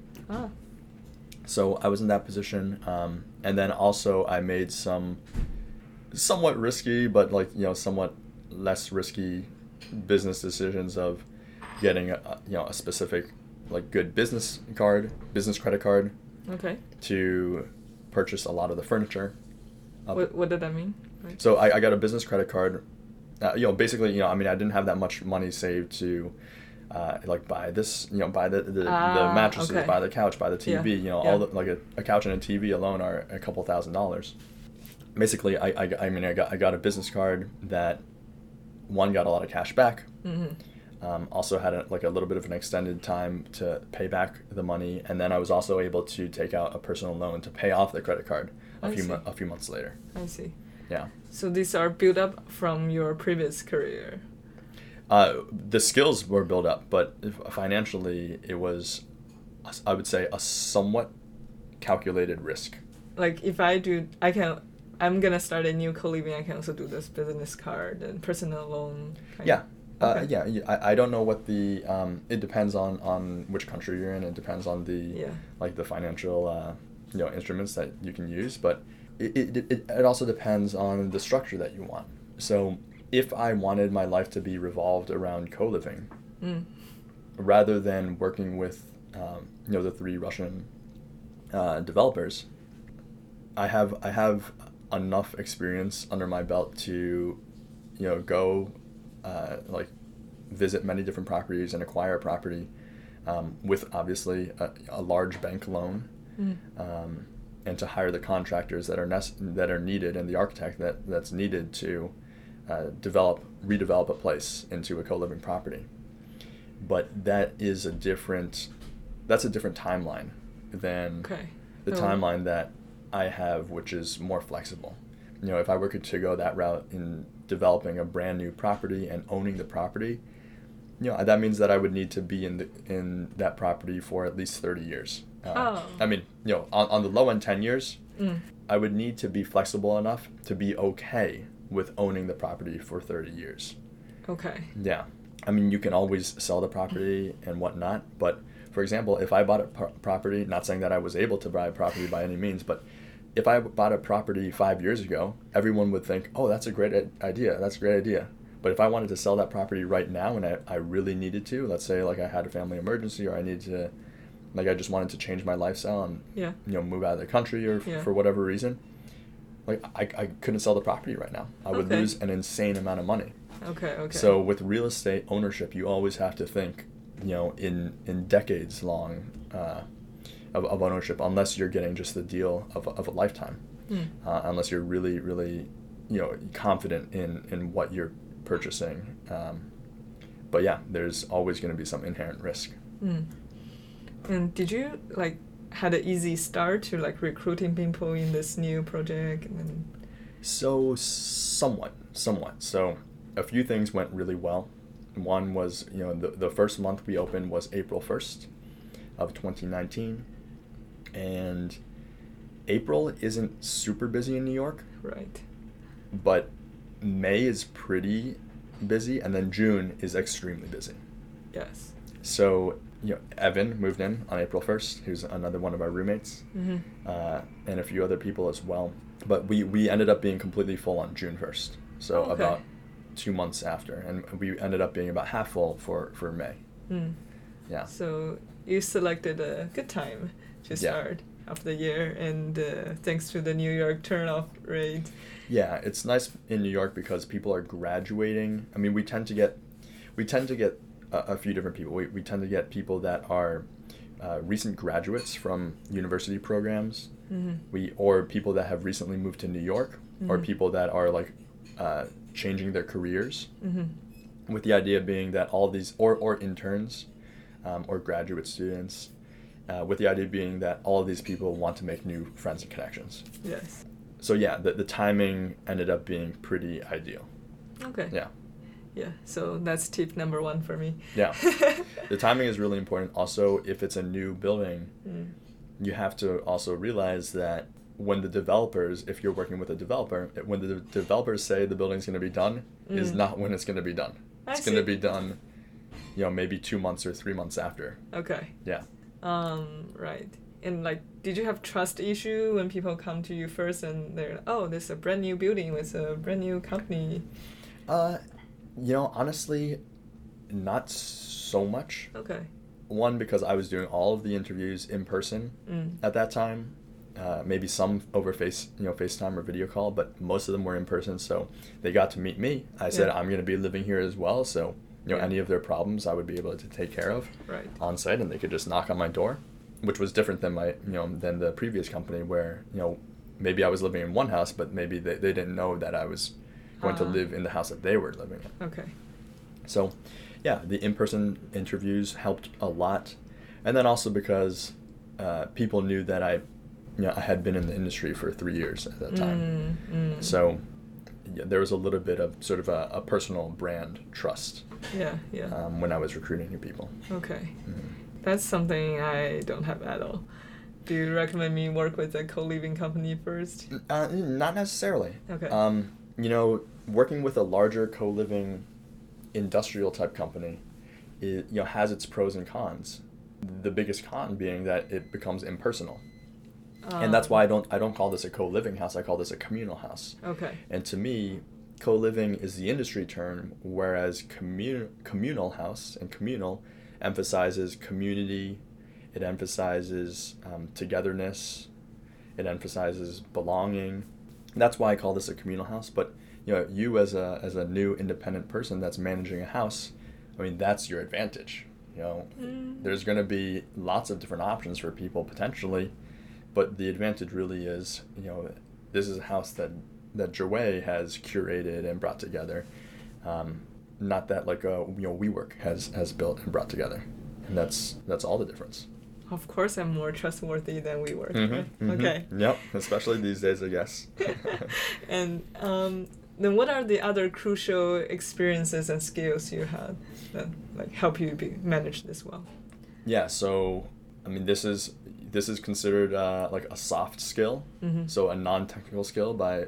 So I was in that position, and then also I made some somewhat risky, but like somewhat less risky business decisions of getting a specific like good business credit card. Okay. To purchase a lot of the furniture. What did that mean? Right. So I got a business credit card. Basically, I didn't have that much money saved to like buy this, buy the mattresses, buy the couch, buy the TV. All the, like a couch and a TV alone are a couple $1,000s. Basically, I got a business card that got a lot of cash back. Also had a little bit of an extended time to pay back the money, and then I was also able to take out a personal loan to pay off the credit card a few months later. I see. Yeah. So these are built up from your previous career. The skills were built up, but financially it was, I would say, a somewhat calculated risk. Like if I'm gonna start a new co-living, I can also do this business card and personal loan. I don't know what the it depends on which country you're in. It depends on the like the financial instruments that you can use, but it also depends on the structure that you want. So if I wanted my life to be revolved around co-living, rather than working with the 3 Russian developers, I have enough experience under my belt to go visit many different properties and acquire a property with obviously a large bank loan, and to hire the contractors that are needed and the architect that's needed to redevelop a place into a co-living property. But that's a different timeline than the timeline that I have, which is more flexible. If I were to go that route in developing a brand new property and owning the property, that means that I would need to be in that property for at least 30 years. On the low end 10 years, I would need to be flexible enough to be okay with owning the property for 30 years. Okay. Yeah. You can always sell the property and whatnot, but for example, if I bought a property, not saying that I was able to buy a property by any means, but if I bought a property 5 years ago, everyone would think, oh, that's a great idea. That's a great idea. But if I wanted to sell that property right now and I really needed to, let's say like I had a family emergency or I needed to, like I just wanted to change my lifestyle and move out of the country or for whatever reason, like I couldn't sell the property right now. I would lose an insane amount of money. Okay. So with real estate ownership, you always have to think, in decades long of ownership, unless you're getting just the deal of a lifetime, unless you're really, really, confident in what you're purchasing. But yeah, there's always going to be some inherent risk. And did you like had an easy start to like recruiting people in this new project? And then... So somewhat. So a few things went really well. One was, the first month we opened was April 1st of 2019. And April isn't super busy in New York. Right. But May is pretty busy, and then June is extremely busy. Yes. So, Evan moved in on April 1st, who's another one of our roommates, and a few other people as well. But we ended up being completely full on June 1st, so about 2 months after, and we ended up being about half full for May. Yeah. So you selected a good time to start of the year, and thanks to the New York turnoff rate. Yeah, it's nice in New York because people are graduating. I mean, we tend to get a few different people. We tend to get people that are recent graduates from university programs, or people that have recently moved to New York, or people that are like changing their careers, with the idea being that all these, or interns, or graduate students, with the idea being that all of these people want to make new friends and connections. Yes. So yeah, the timing ended up being pretty ideal. Okay. Yeah. Yeah, so that's tip number 1 for me. Yeah. The timing is really important. Also, if it's a new building, you have to also realize that when the developers, if you're working with a developer, when the developers say the building's going to be done, is not when it's going to be done. It's going to be done, maybe 2 months or 3 months after. Okay. Yeah. Right. And like, did you have trust issue when people come to you first and they're, oh, this is a brand new building with a brand new company? Honestly, not so much. Okay. One, because I was doing all of the interviews in person at that time. Maybe some over FaceTime or video call, but most of them were in person. So they got to meet me. I said, I'm going to be living here as well. So, any of their problems I would be able to take care of on site, and they could just knock on my door, which was different than than the previous company where, maybe I was living in one house, but maybe they didn't know that I was going to live in the house that they were living in. Okay. So, yeah, the in-person interviews helped a lot. And then also because people knew that I had been in the industry for 3 years at that time. So there was a little bit of sort of a personal brand trust when I was recruiting new people. Okay. That's something I don't have at all. Do you recommend me work with a co-living company first? Not necessarily. Okay. Working with a larger co-living industrial type company, has its pros and cons. The biggest con being that it becomes impersonal. And that's why I don't call this a co-living house, I call this a communal house. Okay. And to me, co-living is the industry term, whereas communal house and communal emphasizes community, it emphasizes togetherness, it emphasizes belonging. That's why I call this a communal house. But you as a new independent person that's managing a house, I mean, that's your advantage. There's going to be lots of different options for people potentially, but the advantage really is, this is a house that Joey has curated and brought together, not that like WeWork has built and brought together, and that's all the difference. Of course, I'm more trustworthy than WeWork. Right? Okay. Yep, especially these days, I guess. And then, what are the other crucial experiences and skills you had that like help you manage this well? Yeah. So, I mean, this is considered like a soft skill, so a non-technical skill by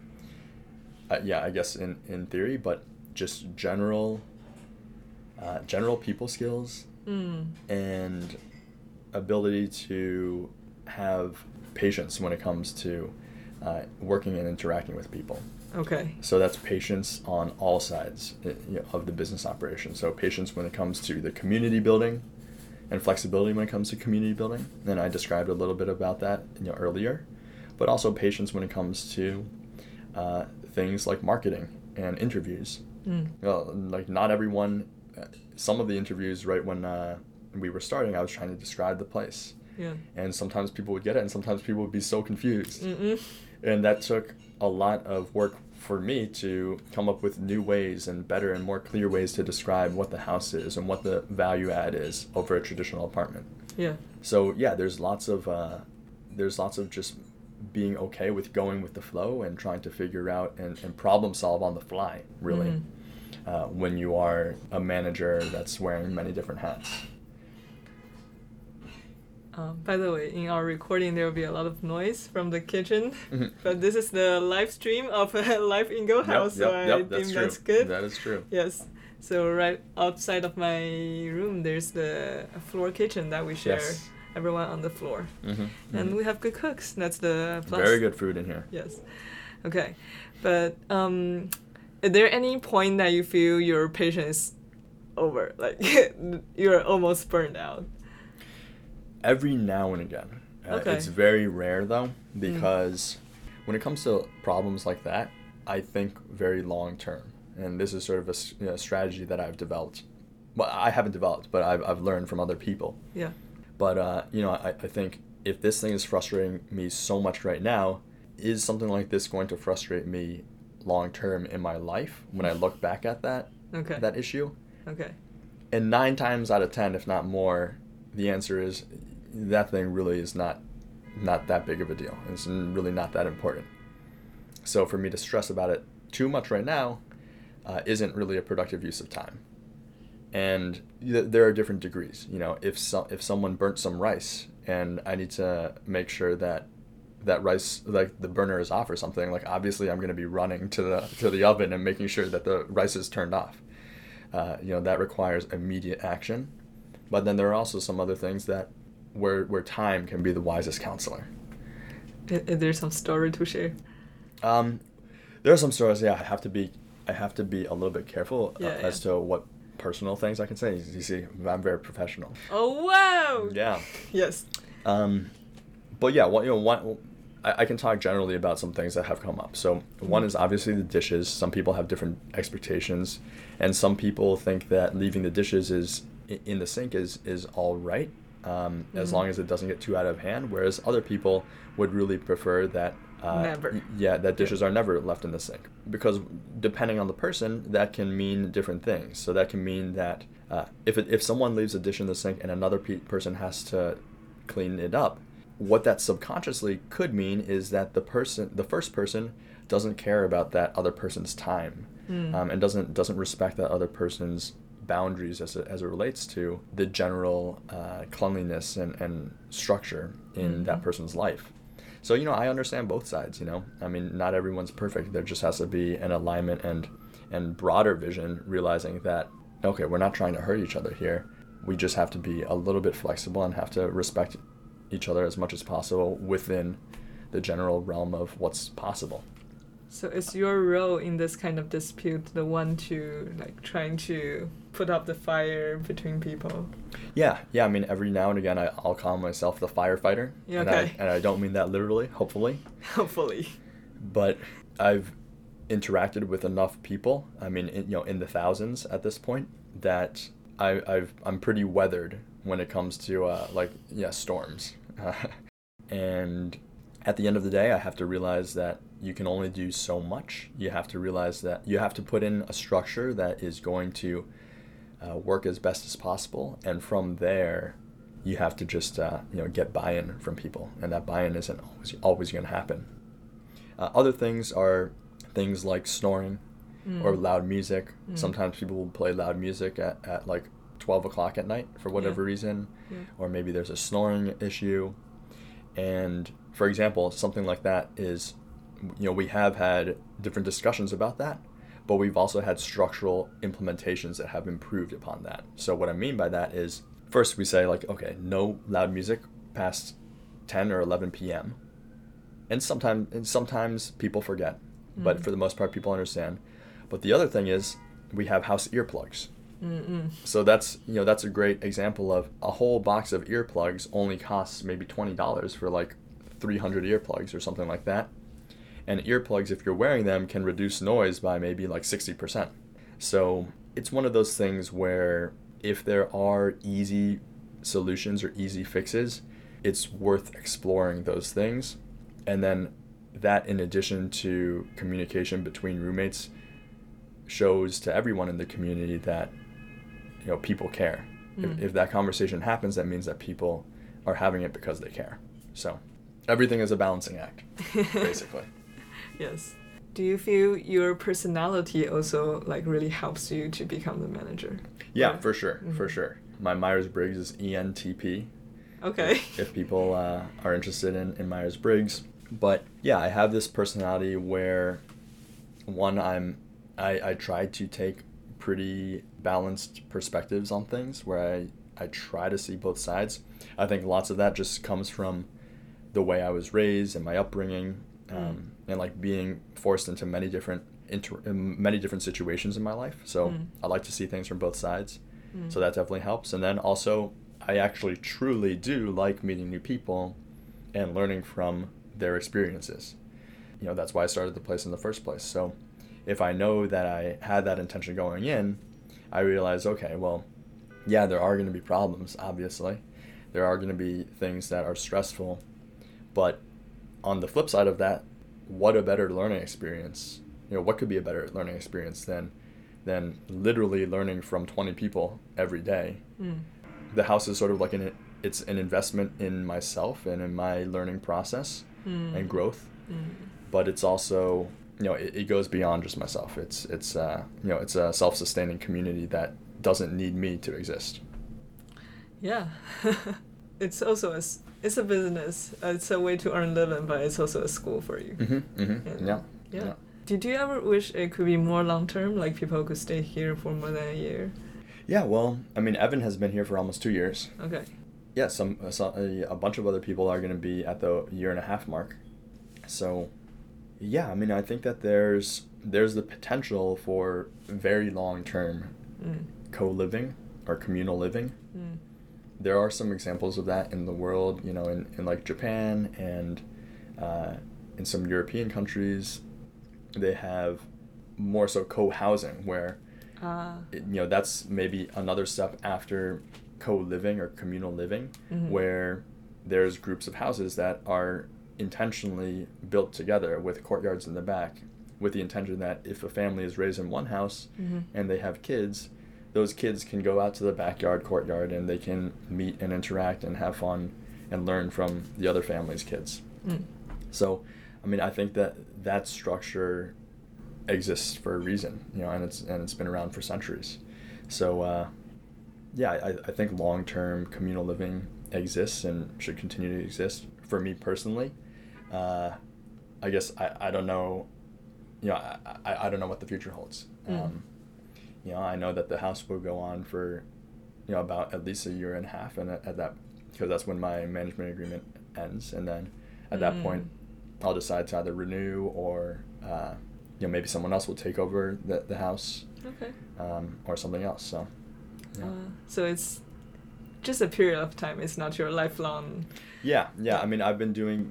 I guess in theory, but just general people skills and ability to have patience when it comes to working and interacting with people. Okay. So that's patience on all sides of the business operation. So patience when it comes to the community building, and flexibility when it comes to community building. And I described a little bit about that earlier, but also patience when it comes to things like marketing and interviews. Like not everyone. Some of the interviews, right when we were starting, I was trying to describe the place, Yeah. And sometimes people would get it, and sometimes people would be so confused. Mm-mm. And that took a lot of work for me to come up with new ways and better and more clear ways to describe what the house is and what the value add is over a traditional apartment. Yeah. So yeah, there's lots of just being okay with going with the flow and trying to figure out and problem solve on the fly, really, when you are a manager that's wearing many different hats. By the way, in our recording, there will be a lot of noise from the kitchen, but this is the live stream of Life in Go House, so I think that's good. That is true. Yes. So right outside of my room, there's the floor kitchen that we share. Yes. Everyone on the floor. And we have good cooks. That's the plus. Very good food in here. Yes. Okay. But is there any point that you feel your patience is over? Like you're almost burned out? Every now and again. It's very rare though, because when it comes to problems like that, I think very long term. And this is sort of a strategy that I've developed. Well, I haven't developed, but I've learned from other people. Yeah. But, I think if this thing is frustrating me so much right now, is something like this going to frustrate me long term in my life when I look back at that issue? Okay. And 9 times out of 10, if not more, the answer is that thing really is not that big of a deal. It's really not that important. So for me to stress about it too much right now isn't really a productive use of time. And there are different degrees. If someone burnt some rice and I need to make sure that rice, like the burner is off or something, like obviously I'm going to be running to the oven and making sure that the rice is turned off. That requires immediate action. But then there are also some other things that where time can be the wisest counselor. Is there some story to share? There are some stories. Yeah, I have to be a little bit careful as to what personal things I can say. You see, I'm very professional. Oh wow! Yeah. Yes. But yeah, I can talk generally about some things that have come up. So one is obviously the dishes. Some people have different expectations, and some people think that leaving the dishes in the sink is all right, as long as it doesn't get too out of hand. Whereas other people would really prefer that. Never. Yeah, that dishes are never left in the sink, because depending on the person, that can mean different things. So that can mean that if someone leaves a dish in the sink and another person has to clean it up, what that subconsciously could mean is that the first person doesn't care about that other person's time, and doesn't respect that other person's boundaries as it relates to the general cleanliness and structure in that person's life. So, I understand both sides, I mean, not everyone's perfect. There just has to be an alignment and broader vision, realizing that, okay, we're not trying to hurt each other here. We just have to be a little bit flexible and have to respect each other as much as possible within the general realm of what's possible. So is your role in this kind of dispute the one to trying to put up the fire between people? Yeah. I mean, every now and again, I'll call myself the firefighter. Yeah, okay. And I don't mean that literally, hopefully. Hopefully. But I've interacted with enough people, I mean, in the thousands at this point, that I'm pretty weathered when it comes to storms. And at the end of the day, I have to realize that you can only do so much. You have to realize that you have to put in a structure that is going to work as best as possible. And from there, you have to just get buy-in from people. And that buy-in isn't always going to happen. Other things are things like snoring or loud music. Sometimes people will play loud music at 12 o'clock at night for whatever reason. Or maybe there's a snoring issue. And for example, something like that is, we have had different discussions about that, but we've also had structural implementations that have improved upon that. So what I mean by that is, first we say okay, no loud music past 10 or 11 p.m. And sometimes people forget, but for the most part people understand. But the other thing is we have house earplugs. So that's a great example of a whole box of earplugs only costs maybe $20 for 300 earplugs or something like that. And earplugs, if you're wearing them, can reduce noise by maybe 60%. So it's one of those things where if there are easy solutions or easy fixes, it's worth exploring those things. And then that, in addition to communication between roommates, shows to everyone in the community that, people care. If that conversation happens, that means that people are having it because they care. So everything is a balancing act, basically. Yes. Do you feel your personality also really helps you to become the manager? Yeah, for sure, for sure. My Myers-Briggs is ENTP. Okay. If people are interested in Myers-Briggs. But yeah, I have this personality where, one, I try to take pretty balanced perspectives on things, where I try to see both sides. I think lots of that just comes from the way I was raised and my upbringing, and being forced into many different situations in my life. So I like to see things from both sides. So that definitely helps. And then also, I actually truly do like meeting new people and learning from their experiences. That's why I started the place in the first place. So if I know that I had that intention going in, I realize, okay, well, yeah, there are going to be problems, obviously. There are going to be things that are stressful. But on the flip side of that, what a better learning experience. What could be a better learning experience than literally learning from 20 people every day? The house is sort of like it's an investment in myself and in my learning process and growth. But it's also, it goes beyond just myself. It's a self-sustaining community that doesn't need me to exist. Yeah. It's also it's a business. It's a way to earn living, but it's also a school for you. Yeah. Did you ever wish it could be more long-term, like people could stay here for more than a year? Yeah, well, Evan has been here for almost 2 years. Okay. Yeah, a bunch of other people are going to be at the 1.5-year mark. So, yeah, I think that there's the potential for very long-term co-living or communal living. There are some examples of that in the world, in like Japan and in some European countries. They have more so co-housing, where that's maybe another step after co-living or communal living, where there's groups of houses that are intentionally built together with courtyards in the back, with the intention that if a family is raised in one house and they have kids, those kids can go out to the backyard courtyard and they can meet and interact and have fun and learn from the other family's kids. So, I think that structure exists for a reason, and it's been around for centuries. So, yeah, I think long-term communal living exists and should continue to exist. For me personally, I guess I don't know, I don't know what the future holds. I know that the house will go on for, about at least 1.5 years, and at that, because that's when my management agreement ends, and then at that point, I'll decide to either renew or, maybe someone else will take over the house. Okay. Or something else. So. Yeah. So it's just a period of time. It's not your lifelong. Yeah. I've been doing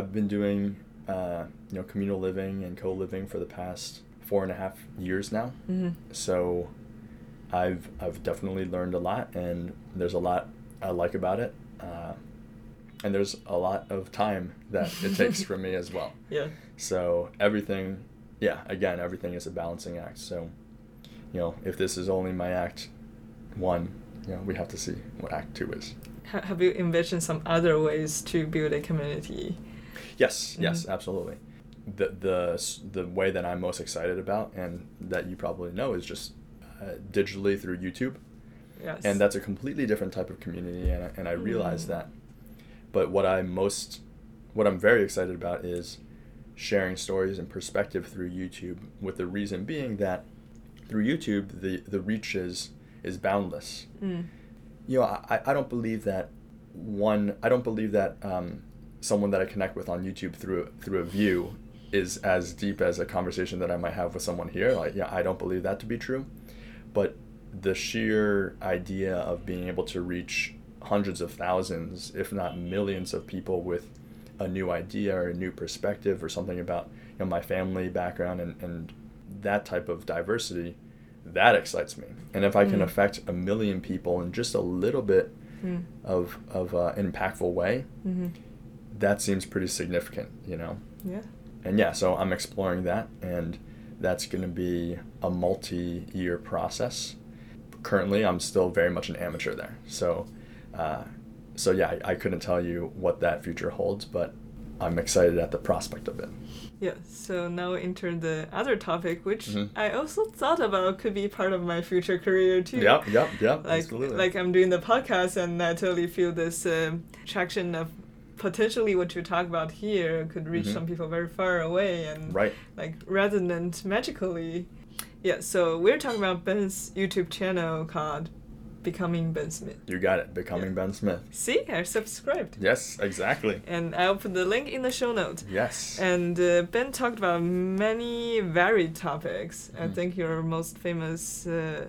communal living and co-living for the past 4.5 years now. So I've definitely learned a lot, and there's a lot I like about it. And there's a lot of time that it takes for me as well. Yeah. So everything is a balancing act. So, if this is only my act 1, we have to see what act 2 is. Have you envisioned some other ways to build a community? Yes, absolutely. The way that I'm most excited about, and that you probably know, is just digitally through YouTube. Yes. And that's a completely different type of community, and I realize that. But what I'm very excited about is sharing stories and perspective through YouTube, with the reason being that through YouTube, the reach is boundless. I don't believe that someone that I connect with on YouTube through a view is as deep as a conversation that I might have with someone here. I don't believe that to be true. But the sheer idea of being able to reach hundreds of thousands, if not millions of people with a new idea or a new perspective or something about my family background and that type of diversity, that excites me. And if I can affect 1 million people in just a little bit of an impactful way, that seems pretty significant, you know? Yeah. And yeah, so I'm exploring that, and that's going to be a multi-year process. Currently, I'm still very much an amateur there. So yeah, I couldn't tell you what that future holds, but I'm excited at the prospect of it. Yeah, so now enter the other topic, which I also thought about could be part of my future career too. Yep, absolutely. Like I'm doing the podcast, and I totally feel this traction of potentially what you talk about here could reach some people very far away and like resonate magically. Yeah, so we're talking about Ben's YouTube channel called Becoming Ben Smith. You got it, Becoming Ben Smith. See, I subscribed. Yes, exactly. And I'll put the link in the show notes. Yes. And Ben talked about many varied topics. I think your most famous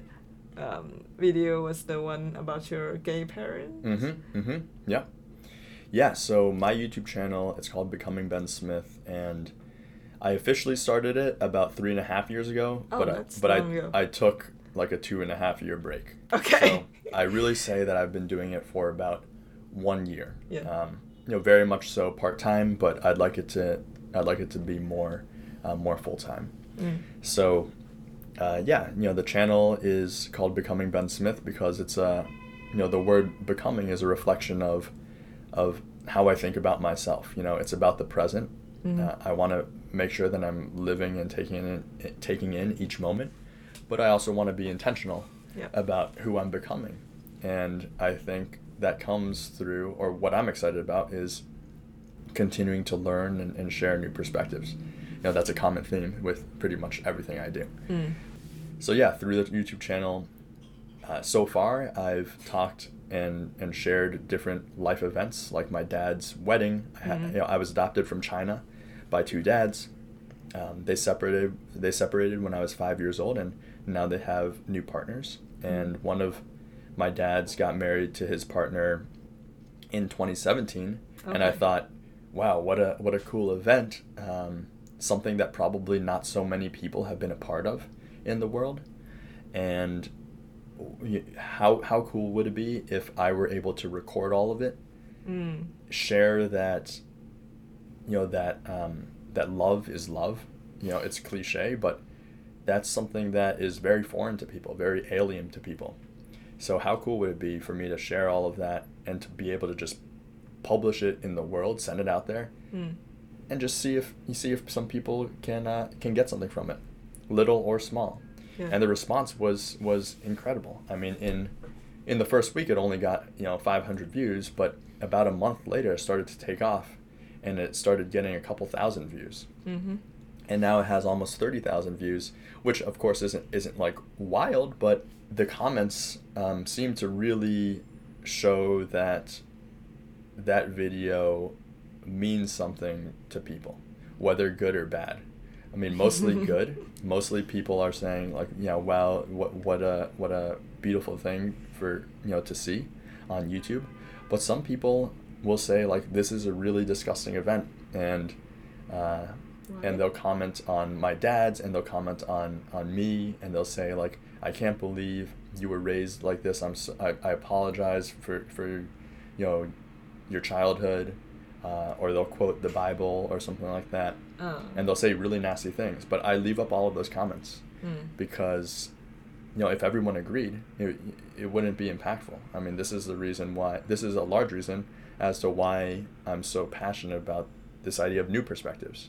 video was the one about your gay parents. Yeah. Yeah, so my YouTube channel, it's called Becoming Ben Smith, and I officially started it about 3.5 years ago. Oh, that's long ago. I took like a 2.5 year break. Okay. So I really say that I've been doing it for about 1 year. Yeah. Very much so part-time, but I'd like it to be more full-time. So the channel is called Becoming Ben Smith because it's the word becoming is a reflection of how I think about myself. It's about the present. I want to make sure that I'm living and taking in each moment, but I also want to be intentional about who I'm becoming. And I think that comes through, or what I'm excited about is continuing to learn and share new perspectives. That's a common theme with pretty much everything I do. So yeah, through the YouTube channel, so far I've talked and shared different life events, like my dad's wedding. I was adopted from China by 2 dads. They separated when I was 5 years old, and now they have new partners. And one of my dads got married to his partner in 2017, and I thought, wow, what a cool event. Something that probably not so many people have been a part of in the world. And how cool would it be if I were able to record all of it, share that, that love is love. It's cliche, but that's something that is very foreign to people, very alien to people. So how cool would it be for me to share all of that and to be able to just publish it in the world, send it out there, and just see if some people can get something from it, little or small. Yeah. And the response was incredible. I mean, in the first week, it only got 500 views, but about a month later, it started to take off, and it started getting a couple thousand views. And now it has almost 30,000 views, which of course isn't like wild, but the comments seem to really show that video means something to people, whether good or bad. I mean, mostly good. Mostly people are saying like, wow, what a beautiful thing for to see on YouTube. But some people will say like, this is a really disgusting event, and they'll comment on my dad's, and they'll comment on me, and they'll say like, I can't believe you were raised like this. I apologize for your childhood. Or they'll quote the Bible or something like that. And they'll say really nasty things. But I leave up all of those comments because, if everyone agreed, it wouldn't be impactful. I mean, this is a large reason as to why I'm so passionate about this idea of new perspectives.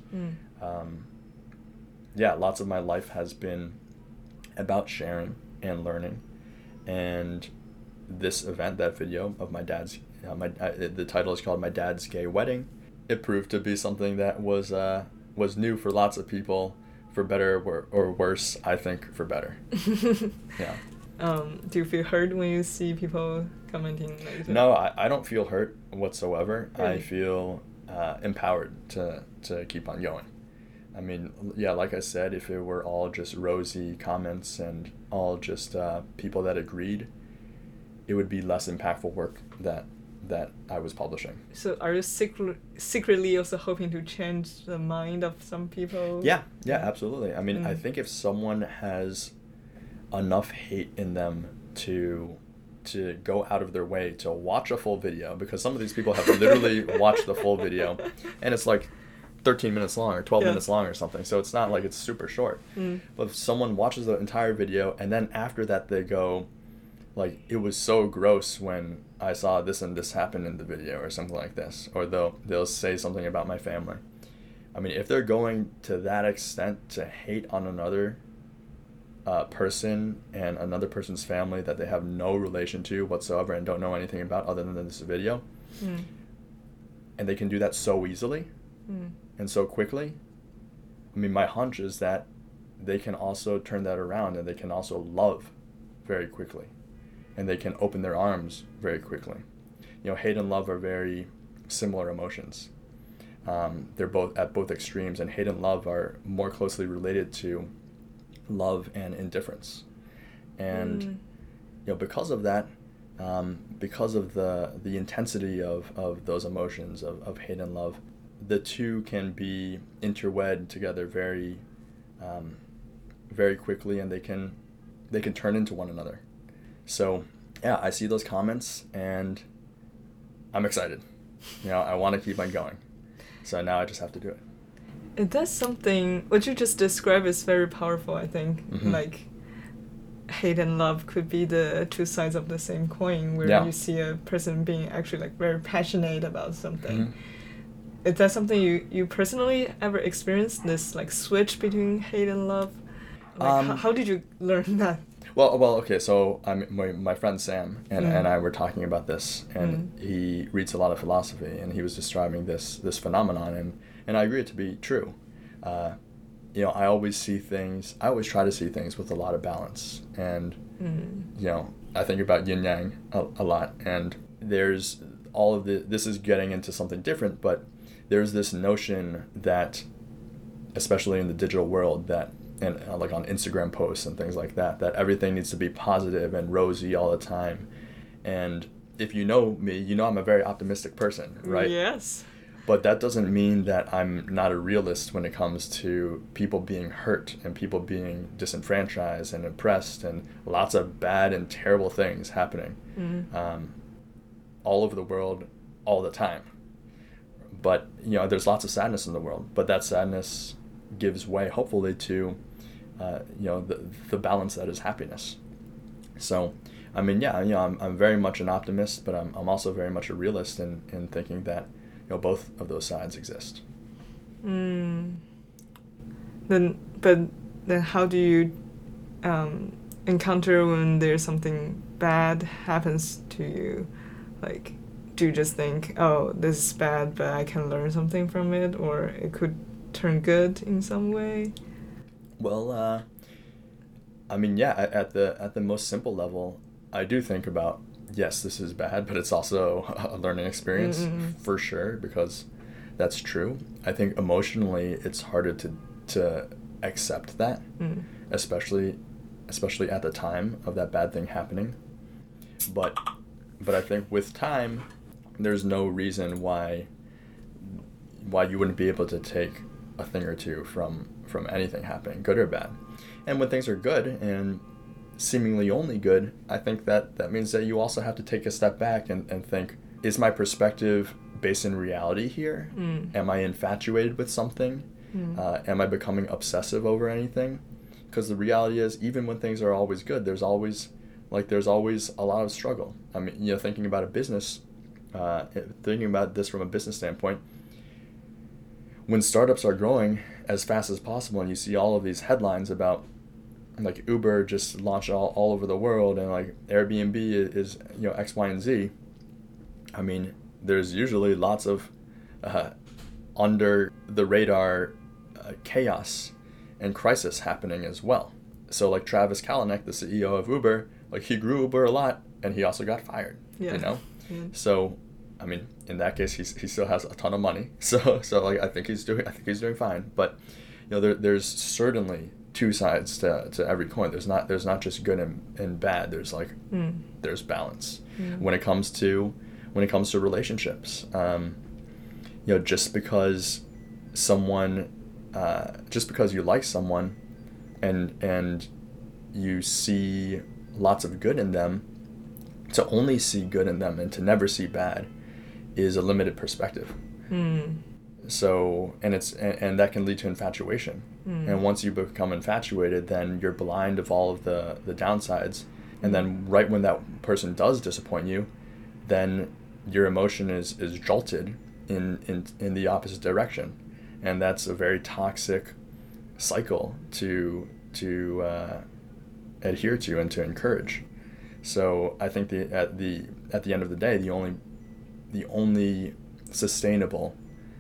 Lots of my life has been about sharing and learning. And this event, that video of my dad's, the title is called My Dad's Gay Wedding. It proved to be something that was new for lots of people, for better or worse. I think for better. Yeah. Do you feel hurt when you see people commenting like that? No, I don't feel hurt whatsoever. Really? I feel empowered to keep on going. I mean, yeah, like I said, if it were all just rosy comments and all just people that agreed, it would be less impactful work that I was publishing. So are you secretly also hoping to change the mind of some people? Yeah, absolutely. I mean, I think if someone has enough hate in them to to go out of their way to watch a full video, because some of these people have literally watched the full video, and it's like 13 minutes long or 12 minutes long or something, so it's not like it's super short. But if someone watches the entire video and then after that they go, like, it was so gross when I saw this and this happen in the video or something like this, or they'll say something about my family. I mean, if they're going to that extent to hate on another person and another person's family that they have no relation to whatsoever and don't know anything about other than this video, and they can do that so easily and so quickly, I mean, my hunch is that they can also turn that around, and they can also love very quickly, and they can open their arms very quickly. You know, hate and love are very similar emotions. They're both at both extremes, and hate and love are more closely related to love and indifference. And you know, because of that, because of the intensity of those emotions of hate and love, the two can be interwed together very very quickly, and they can turn into one another. So yeah, I see those comments and I'm excited. You know, I want to keep on going. So now I just have to do it. It does something, what you just described is very powerful, I think. Like, hate and love could be the two sides of the same coin, where you see a person being actually like very passionate about something. Is that something you personally ever experienced, this like switch between hate and love? Like, how did you learn that? Well, okay, so my friend Sam and I were talking about this, and he reads a lot of philosophy, and he was describing this phenomenon, and I agree it to be true. You know, I always try to see things with a lot of balance, and you know, I think about yin yang a lot, and there's all of this is getting into something different, but there's this notion that, especially in the digital world, that, and like on Instagram posts and things like that everything needs to be positive and rosy all the time. And if you know me, you know I'm a very optimistic person, right? Yes. But that doesn't mean that I'm not a realist when it comes to people being hurt and people being disenfranchised and oppressed and lots of bad and terrible things happening all over the world all the time. But, you know, there's lots of sadness in the world, but that sadness gives way, hopefully, to, you know, the balance that is happiness. So, I mean, yeah, you know, I'm very much an optimist, but I'm also very much a realist in thinking that, you know, both of those sides exist. Then how do you encounter when there's something bad happens to you? Like, do you just think, oh, this is bad, but I can learn something from it, or it could turn good in some way? Well, I mean, yeah, at the most simple level, I do think about, yes, this is bad, but it's also a learning experience for sure, because that's true. I think emotionally it's harder to accept that, especially at the time of that bad thing happening. But I think with time, there's no reason why you wouldn't be able to take a thing or two from anything happening, good or bad. And when things are good and seemingly only good, I think that means that you also have to take a step back and think, is my perspective based in reality here? Am I infatuated with something? Am I becoming obsessive over anything? Because the reality is, even when things are always good, there's always a lot of struggle. I mean, you know, thinking about this from a business standpoint, when startups are growing as fast as possible, and you see all of these headlines about, like, Uber just launched all over the world, and like Airbnb is, you know, X, Y, and Z. I mean, there's usually lots of under the radar chaos and crisis happening as well. So like Travis Kalanick, the CEO of Uber, like, he grew Uber a lot, and he also got fired. You know. So, I mean, in that case, he still has a ton of money. So like, I think he's doing fine. But, you know, there's certainly two sides to every coin. There's not just good and bad. There's like there's balance when it comes to relationships. You know, just because you like someone and you see lots of good in them to only see good in them and to never see bad is a limited perspective. So, and that can lead to infatuation. And once you become infatuated, then you're blind of all of the downsides. And then right when that person does disappoint you, then your emotion is jolted in the opposite direction. And that's a very toxic cycle to adhere to and to encourage. So I think at the end of the day, the only sustainable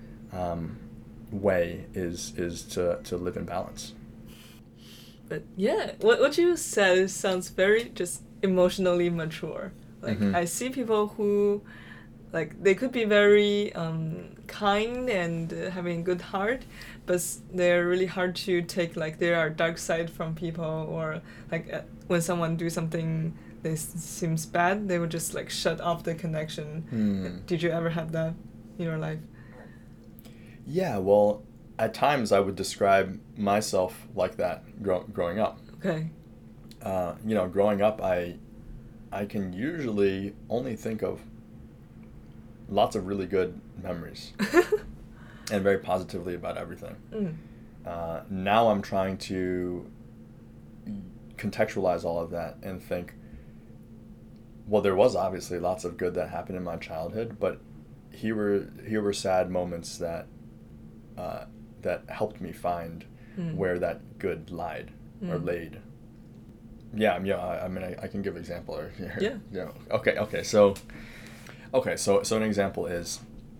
way is to live in balance. But yeah, what you said sounds very just emotionally mature. Like I see people who, like, they could be very kind and having a good heart, but they're really hard to take, like, there are dark side from people, or like when someone do something that seems bad, they would just like shut off the connection. Did you ever have that in your life? Yeah, well, at times I would describe myself like that growing up. Okay. Growing up, I can usually only think of lots of really good memories and very positively about everything. Now I'm trying to contextualize all of that and think, well, there was obviously lots of good that happened in my childhood, but here were sad moments that helped me find where that good lied or laid. Yeah, I mean, I can give an example here. Yeah. Okay. So an example is,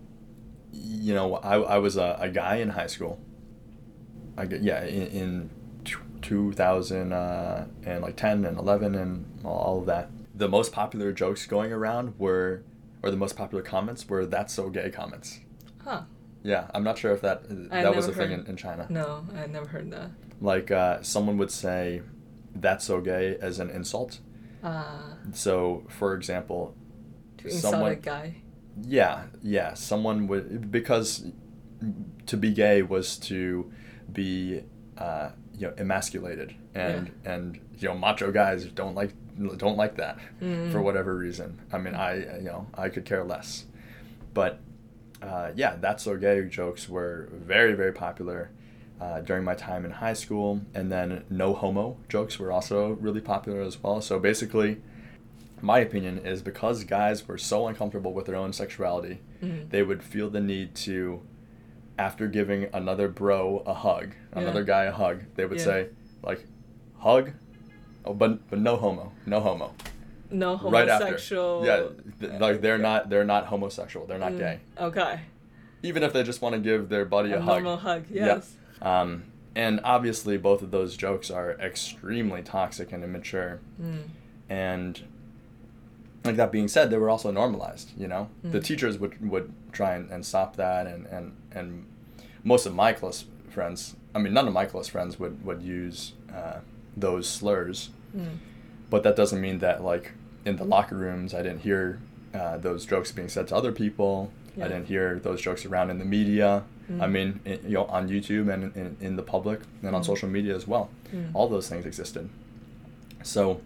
I was a guy in high school. In 2010 and 11 and all of that. The most popular jokes going around or the most popular comments were "That's so gay" comments. Huh. Yeah, I'm not sure if that was a thing in China. No, I never heard that. Like, someone would say, "That's so gay" as an insult. So, for example, to insult a guy. Yeah. Someone would, because to be gay was to be, emasculated, and macho guys don't like that for whatever reason. I mean, I could care less, but "That's so gay" jokes were very, very popular during my time in high school, and then "no homo" jokes were also really popular as well. So basically, my opinion is, because guys were so uncomfortable with their own sexuality, they would feel the need to, after giving another bro a hug, another guy a hug, they would say, like, "Hug, oh, but no homo, no homo." No homosexual. Right after. Yeah, like they're not homosexual, they're not gay. Okay. Even if they just want to give their buddy a hug. Normal hug, yes. Yeah. And obviously both of those jokes are extremely toxic and immature. And like, that being said, they were also normalized, The teachers would try and stop that, and most of my close friends, I mean, none of my close friends would use those slurs. But that doesn't mean that, like, in the locker rooms, I didn't hear those jokes being said to other people. I didn't hear those jokes around in the media. I mean, on YouTube and in the public and on social media as well. All those things existed. So,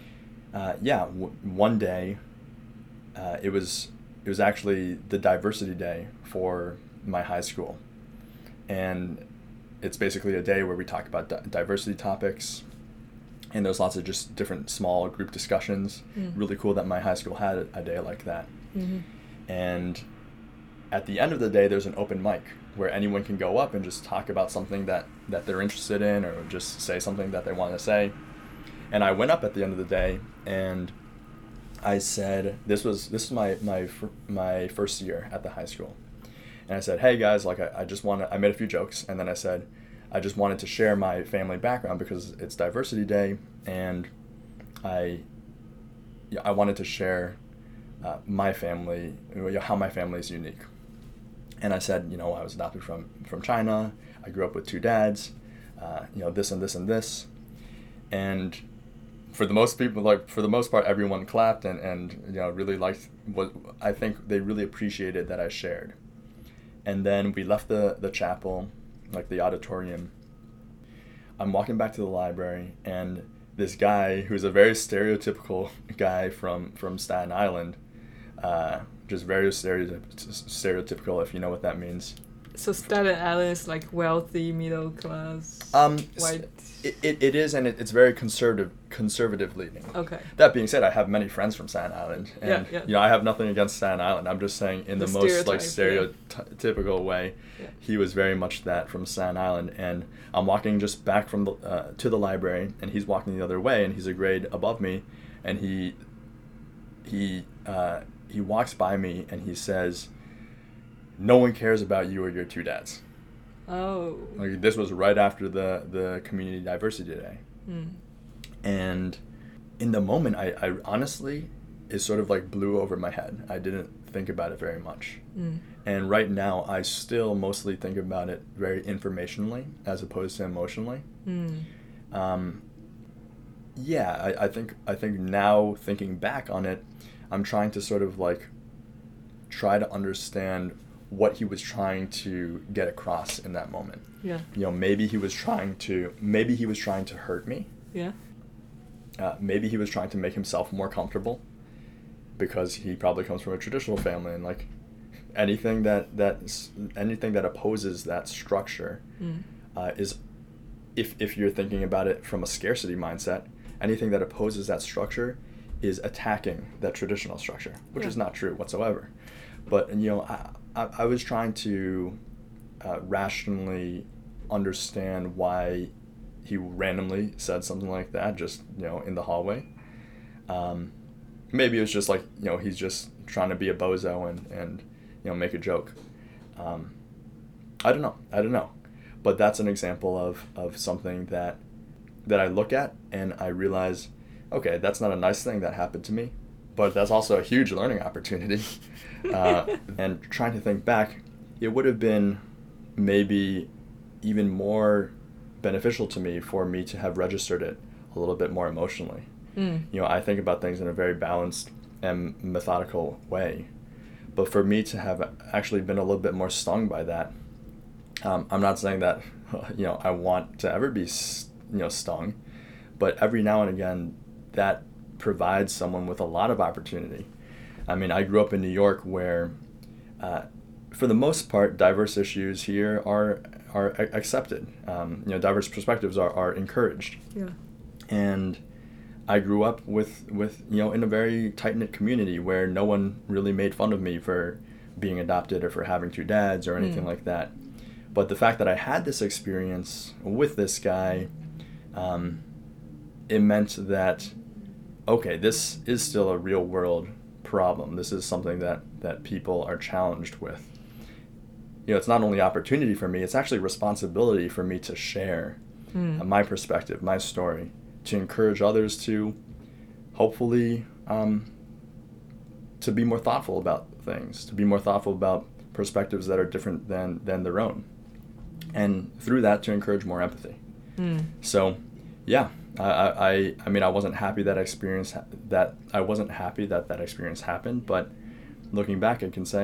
one day, it was actually the diversity day for my high school, and it's basically a day where we talk about diversity topics. And there's lots of just different small group discussions. Really cool that my high school had a day like that. And at the end of the day, there's an open mic where anyone can go up and just talk about something that they're interested in, or just say something that they want to say. And I went up at the end of the day, and I said, this was my first year at the high school. And I said, "Hey guys, like, I made a few jokes, and then I said, I just wanted to share my family background because it's diversity day, and I wanted to share my family, how my family is unique." And I said, I was adopted from China. I grew up with 2 dads, this and this and this. And for the most part, everyone clapped and really liked what I think they really appreciated that I shared. And then we left the chapel, like the auditorium. I'm walking back to the library, and this guy who's a very stereotypical guy from Staten Island, just very stereotypical, if you know what that means. So Staten Island is like wealthy, middle class, white. It is, and it's very conservative leaning. Okay. That being said, I have many friends from Staten Island, and I have nothing against Staten Island. I'm just saying, in the most like stereotypical way, he was very much that from Staten Island. And I'm walking just back from to the library, and he's walking the other way, and he's a grade above me, and he walks by me, and he says, "No one cares about you or your two dads." Oh. Like, this was right after the Community Diversity Day. And in the moment, I honestly, it sort of like blew over my head. I didn't think about it very much. And right now, I still mostly think about it very informationally as opposed to emotionally. I think now, thinking back on it, I'm trying to sort of like try to understand what he was trying to get across in that moment. Yeah. Maybe he was trying to hurt me. Yeah. Maybe he was trying to make himself more comfortable, because he probably comes from a traditional family, and like anything that opposes that structure is, if you're thinking about it from a scarcity mindset, anything that opposes that structure is attacking that traditional structure, which is not true whatsoever. But I was trying to rationally understand why he randomly said something like that, just in the hallway. Maybe it was just like he's just trying to be a bozo and make a joke. I don't know, but that's an example of something that I look at and I realize, okay, that's not a nice thing that happened to me, but that's also a huge learning opportunity. And trying to think back, it would have been maybe even more beneficial to me for me to have registered it a little bit more emotionally. I think about things in a very balanced and methodical way, but for me to have actually been a little bit more stung by that, I'm not saying that I want to ever be stung, but every now and again that provides someone with a lot of opportunity. I mean, I grew up in New York, where for the most part diverse issues here are accepted. Diverse perspectives are encouraged. Yeah. And I grew up with in a very tight-knit community where no one really made fun of me for being adopted or for having two dads or anything like that. But the fact that I had this experience with this guy, it meant that, okay, this is still a real world problem. This is something that people are challenged with. It's not only opportunity for me, it's actually responsibility for me to share my perspective, my story, to encourage others to hopefully to be more thoughtful about things, to be more thoughtful about perspectives that are different than their own, and through that to encourage more empathy. So yeah, I mean, I wasn't happy that experience that experience happened, but looking back I can say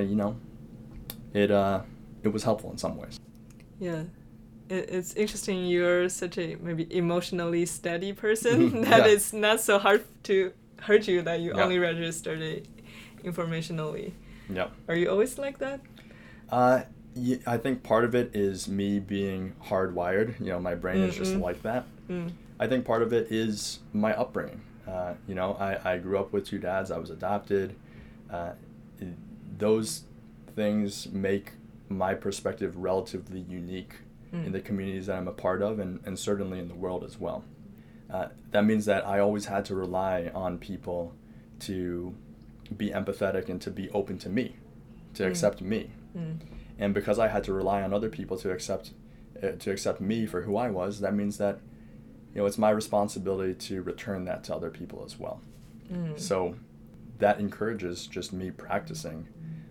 it was helpful in some ways. Yeah. It's interesting you're such a maybe emotionally steady person that it's not so hard to hurt you that you only registered it informationally. Yeah. Are you always like that? Yeah, I think part of it is me being hardwired. My brain is just like that. I think part of it is my upbringing. I grew up with two dads. I was adopted. Those things make my perspective relatively unique in the communities that I'm a part of, and certainly in the world as well. That means that I always had to rely on people to be empathetic and to be open to me, to accept me. And because I had to rely on other people to accept me for who I was, that means that it's my responsibility to return that to other people as well. So that encourages just me practicing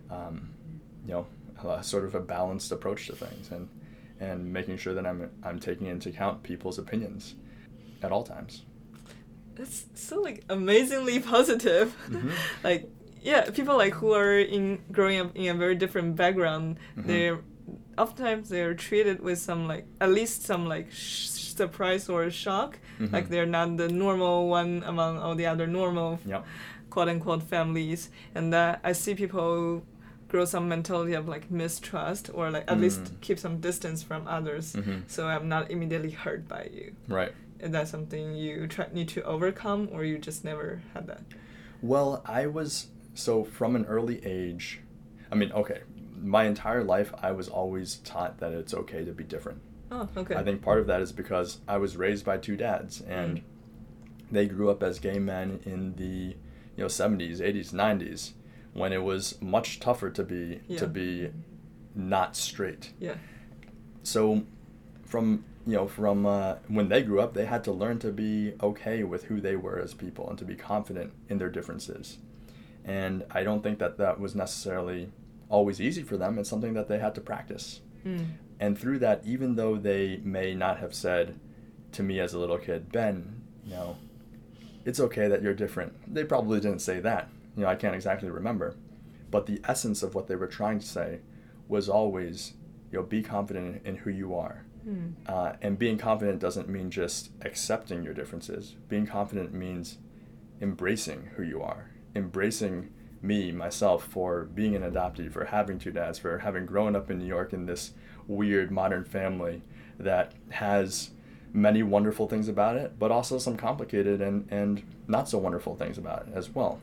sort of a balanced approach to things, and making sure that I'm taking into account people's opinions at all times. That's so amazingly positive. Like, yeah, people who are growing up in a very different background, oftentimes they're treated with some at least some surprise or shock Like they're not the normal one among all the other normal Yep. quote-unquote families, and that I see people grow some mentality of like mistrust, or like at least keep some distance from others, so I'm not immediately hurt by you. Right. Is that something you need to overcome, or you just never had that? Well, so from an early age, I mean, okay, my entire life I was always taught that it's okay to be different. Oh, okay. I think part of that is because I was raised by two dads, and they grew up as gay men in the 70s, 80s, 90s, when it was much tougher to be not straight. Yeah. So from when they grew up, they had to learn to be okay with who they were as people and to be confident in their differences. And I don't think that was necessarily always easy for them. It's something that they had to practice. And through that, even though they may not have said to me as a little kid, Ben, it's okay that you're different. They probably didn't say that. I can't exactly remember. But the essence of what they were trying to say was always, be confident in who you are. And being confident doesn't mean just accepting your differences. Being confident means embracing who you are. Embracing myself, for being an adoptee, for having two dads, for having grown up in New York in this weird modern family that has many wonderful things about it, but also some complicated and not so wonderful things about it as well.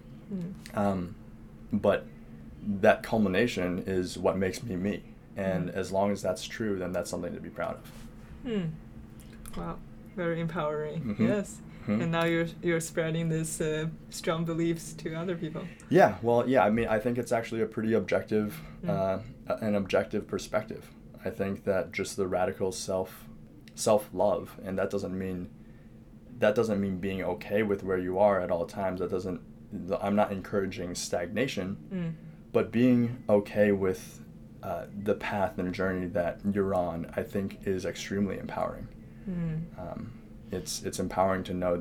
But that culmination is what makes me. And as long as that's true, then that's something to be proud of. Wow, very empowering. Yes. And now you're spreading this strong beliefs to other people. Yeah, well, I mean, I think it's actually a pretty objective, an objective perspective. I think that just the radical self-love, and that doesn't mean being okay with where you are at all times. I'm not encouraging stagnation, but being okay with the path and journey that you're on, I think, is extremely empowering. It's empowering to know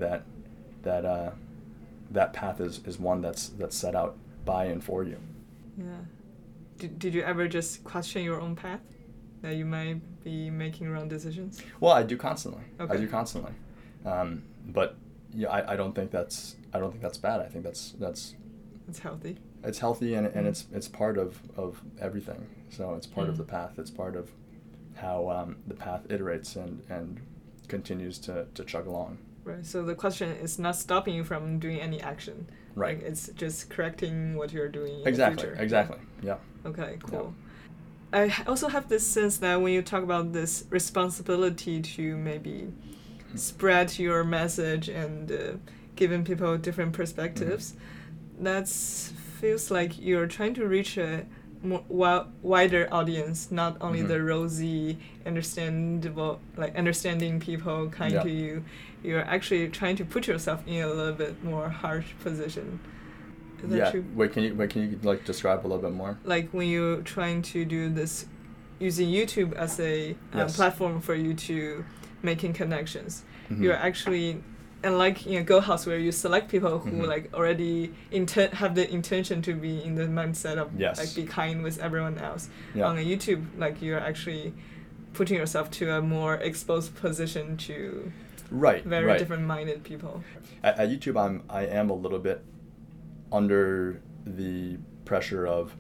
that path is one that's set out by and for you. Yeah. Did you ever just question your own path, that you might be making wrong decisions? Well, I do constantly. Okay. I do constantly. But I don't think that's bad. I think that's it's healthy. It's healthy, and it's part of everything. So it's part of the path. It's part of how the path iterates and continues to chug along. Right. So the question is not stopping you from doing any action. Right. Like, it's just correcting what you're doing in the future. Exactly. Yeah. Okay, cool. Yeah. I also have this sense that when you talk about this responsibility to maybe spread your message and giving people different perspectives, that feels like you're trying to reach a more wider audience, not only the rosy, understanding people kind to you. You're actually trying to put yourself in a little bit more harsh position. Is that true? Wait, can you like describe a little bit more? Like when you're trying to do this, using YouTube as a platform for you to making connections, you're actually, and like in a Go House where you select people who like already have the intention to be in the mindset of like be kind with everyone else. On a YouTube, like you're actually putting yourself to a more exposed position to very different minded people. At YouTube, I am a little bit under the pressure of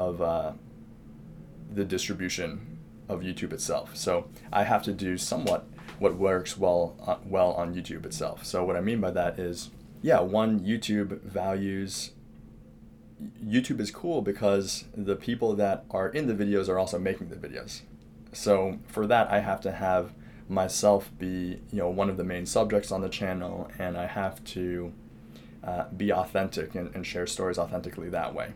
the distribution of YouTube itself. So I have to do somewhat what works well on YouTube itself. So what I mean by that is, YouTube is cool because the people that are in the videos are also making the videos. So for that, I have to have myself be, one of the main subjects on the channel, and I have to be authentic and share stories authentically that way.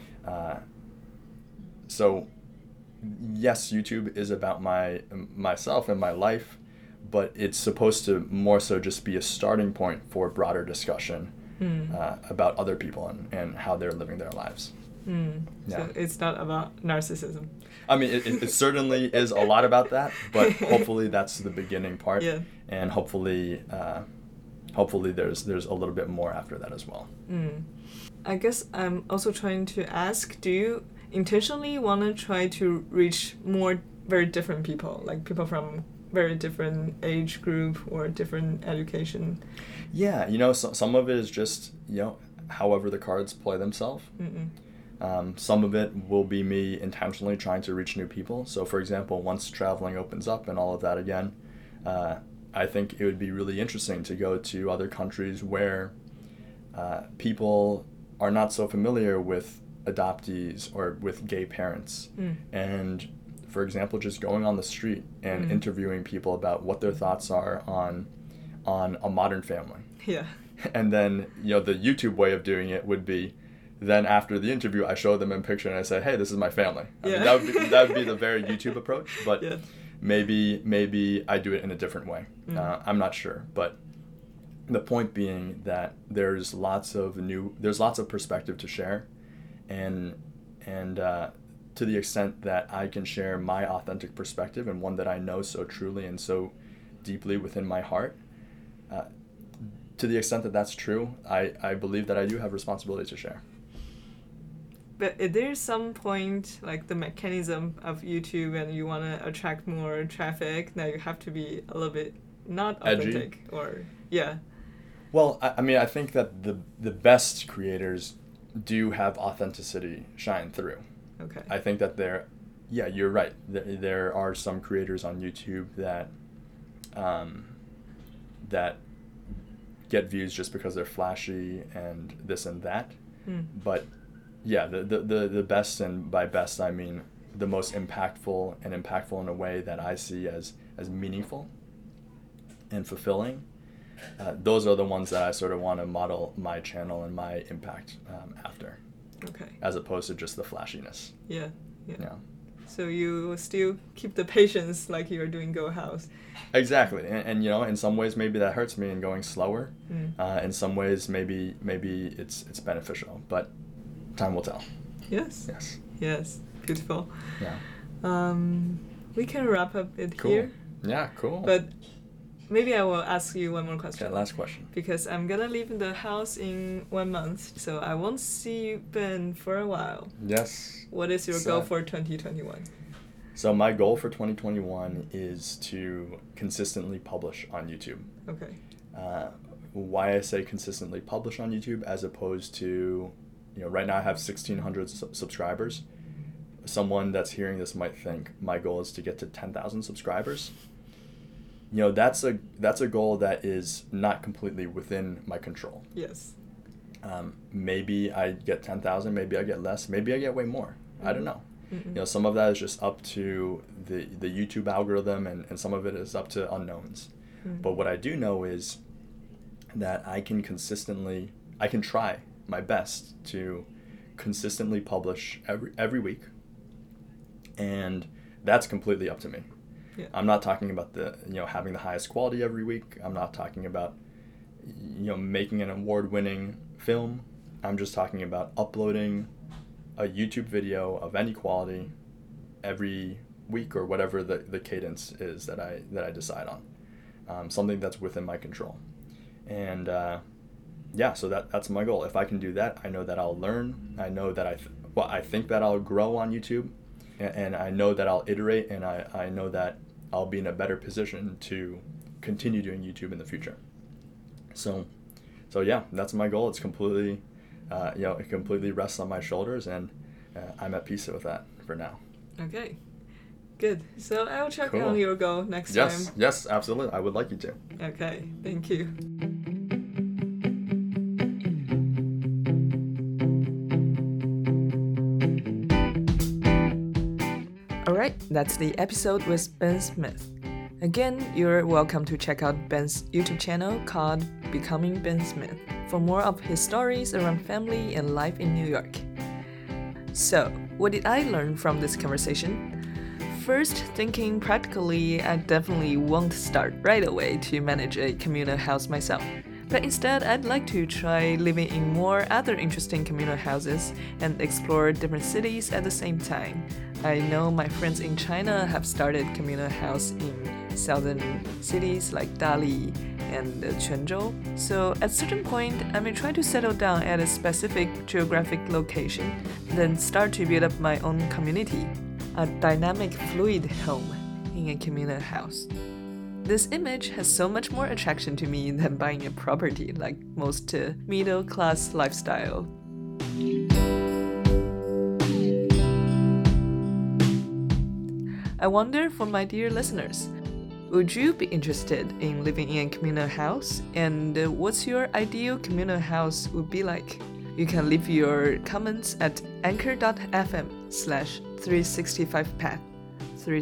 So yes, YouTube is about myself and my life, but it's supposed to more so just be a starting point for broader discussion about other people and how they're living their lives. So it's not about narcissism. I mean, it certainly is a lot about that, but hopefully that's the beginning part, and hopefully there's a little bit more after that as well. I guess I'm also trying to ask, do you intentionally want to try to reach more very different people, like people from very different age group or different education. Yeah, some of it is just, however the cards play themselves. Some of it will be me intentionally trying to reach new people. So, for example, once traveling opens up and all of that again, I think it would be really interesting to go to other countries where people are not so familiar with adoptees or with gay parents. And, for example, just going on the street and interviewing people about what their thoughts are on a modern family. Yeah. And then, the YouTube way of doing it would be, then after the interview, I show them a picture and I say, hey, this is my family. I mean, that would be the very YouTube approach, but maybe I do it in a different way. I'm not sure, but the point being that there's lots of perspective to share, and to the extent that I can share my authentic perspective and one that I know so truly and so deeply within my heart, to the extent that that's true, I believe that I do have responsibility to share. But is there some point, like the mechanism of YouTube, and you want to attract more traffic, that you have to be a little bit not authentic? Edgy? Or yeah. Well, I think that the best creators do have authenticity shine through. Okay. I think that you're right. There are some creators on YouTube that get views just because they're flashy and this and that. But yeah, the best, and by best I mean the most impactful in a way that I see as meaningful and fulfilling. Those are the ones that I sort of want to model my channel and my impact after. Okay. As opposed to just the flashiness. Yeah. So you still keep the patience like you're doing Go House. Exactly, and in some ways maybe that hurts me in going slower. In some ways maybe it's beneficial, but time will tell. Yes. Beautiful. Yeah. We can wrap up it cool. here. Yeah, cool. But maybe I will ask you one more question. Okay, last question. Because I'm gonna leave the house in 1 month, so I won't see Ben for a while. Yes. What is your goal for 2021? So my goal for 2021 is to consistently publish on YouTube. Okay. Why I say consistently publish on YouTube as opposed to, right now I have 1,600 subscribers. Someone that's hearing this might think my goal is to get to 10,000 subscribers. That's a goal that is not completely within my control. Yes. Maybe I get 10,000, maybe I get less, maybe I get way more. I don't know. Some of that is just up to the YouTube algorithm, and some of it is up to unknowns. But what I do know is that I can try my best to consistently publish every week, and that's completely up to me. Yeah. I'm not talking about having the highest quality every week. I'm not talking about making an award-winning film. I'm just talking about uploading a YouTube video of any quality every week, or whatever the cadence is that I decide on. Something that's within my control. And so that's my goal. If I can do that, I know that I'll learn. I know that I think that I'll grow on YouTube, and I know that I'll iterate, and I know that I'll be in a better position to continue doing YouTube in the future. So yeah, that's my goal. It's completely, it completely rests on my shoulders, and I'm at peace with that for now. Okay, good. So I'll check on your goal next time. Yes, absolutely. I would like you to. Okay, thank you. Alright, that's the episode with Ben Smith. Again, you're welcome to check out Ben's YouTube channel called Becoming Ben Smith for more of his stories around family and life in New York. So, what did I learn from this conversation? First, thinking practically, I definitely won't start right away to manage a communal house myself. But instead, I'd like to try living in more other interesting communal houses and explore different cities at the same time. I know my friends in China have started communal house in southern cities like Dali and Quanzhou. So at a certain point, I may try to settle down at a specific geographic location, then start to build up my own community, a dynamic, fluid home in a communal house. This image has so much more attraction to me than buying a property like most middle-class lifestyle. I wonder for my dear listeners, would you be interested in living in a communal house? And what's your ideal communal house would be like? You can leave your comments at anchor.fm/365path.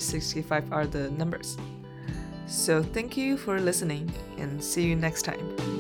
365 are the numbers. So thank you for listening and see you next time.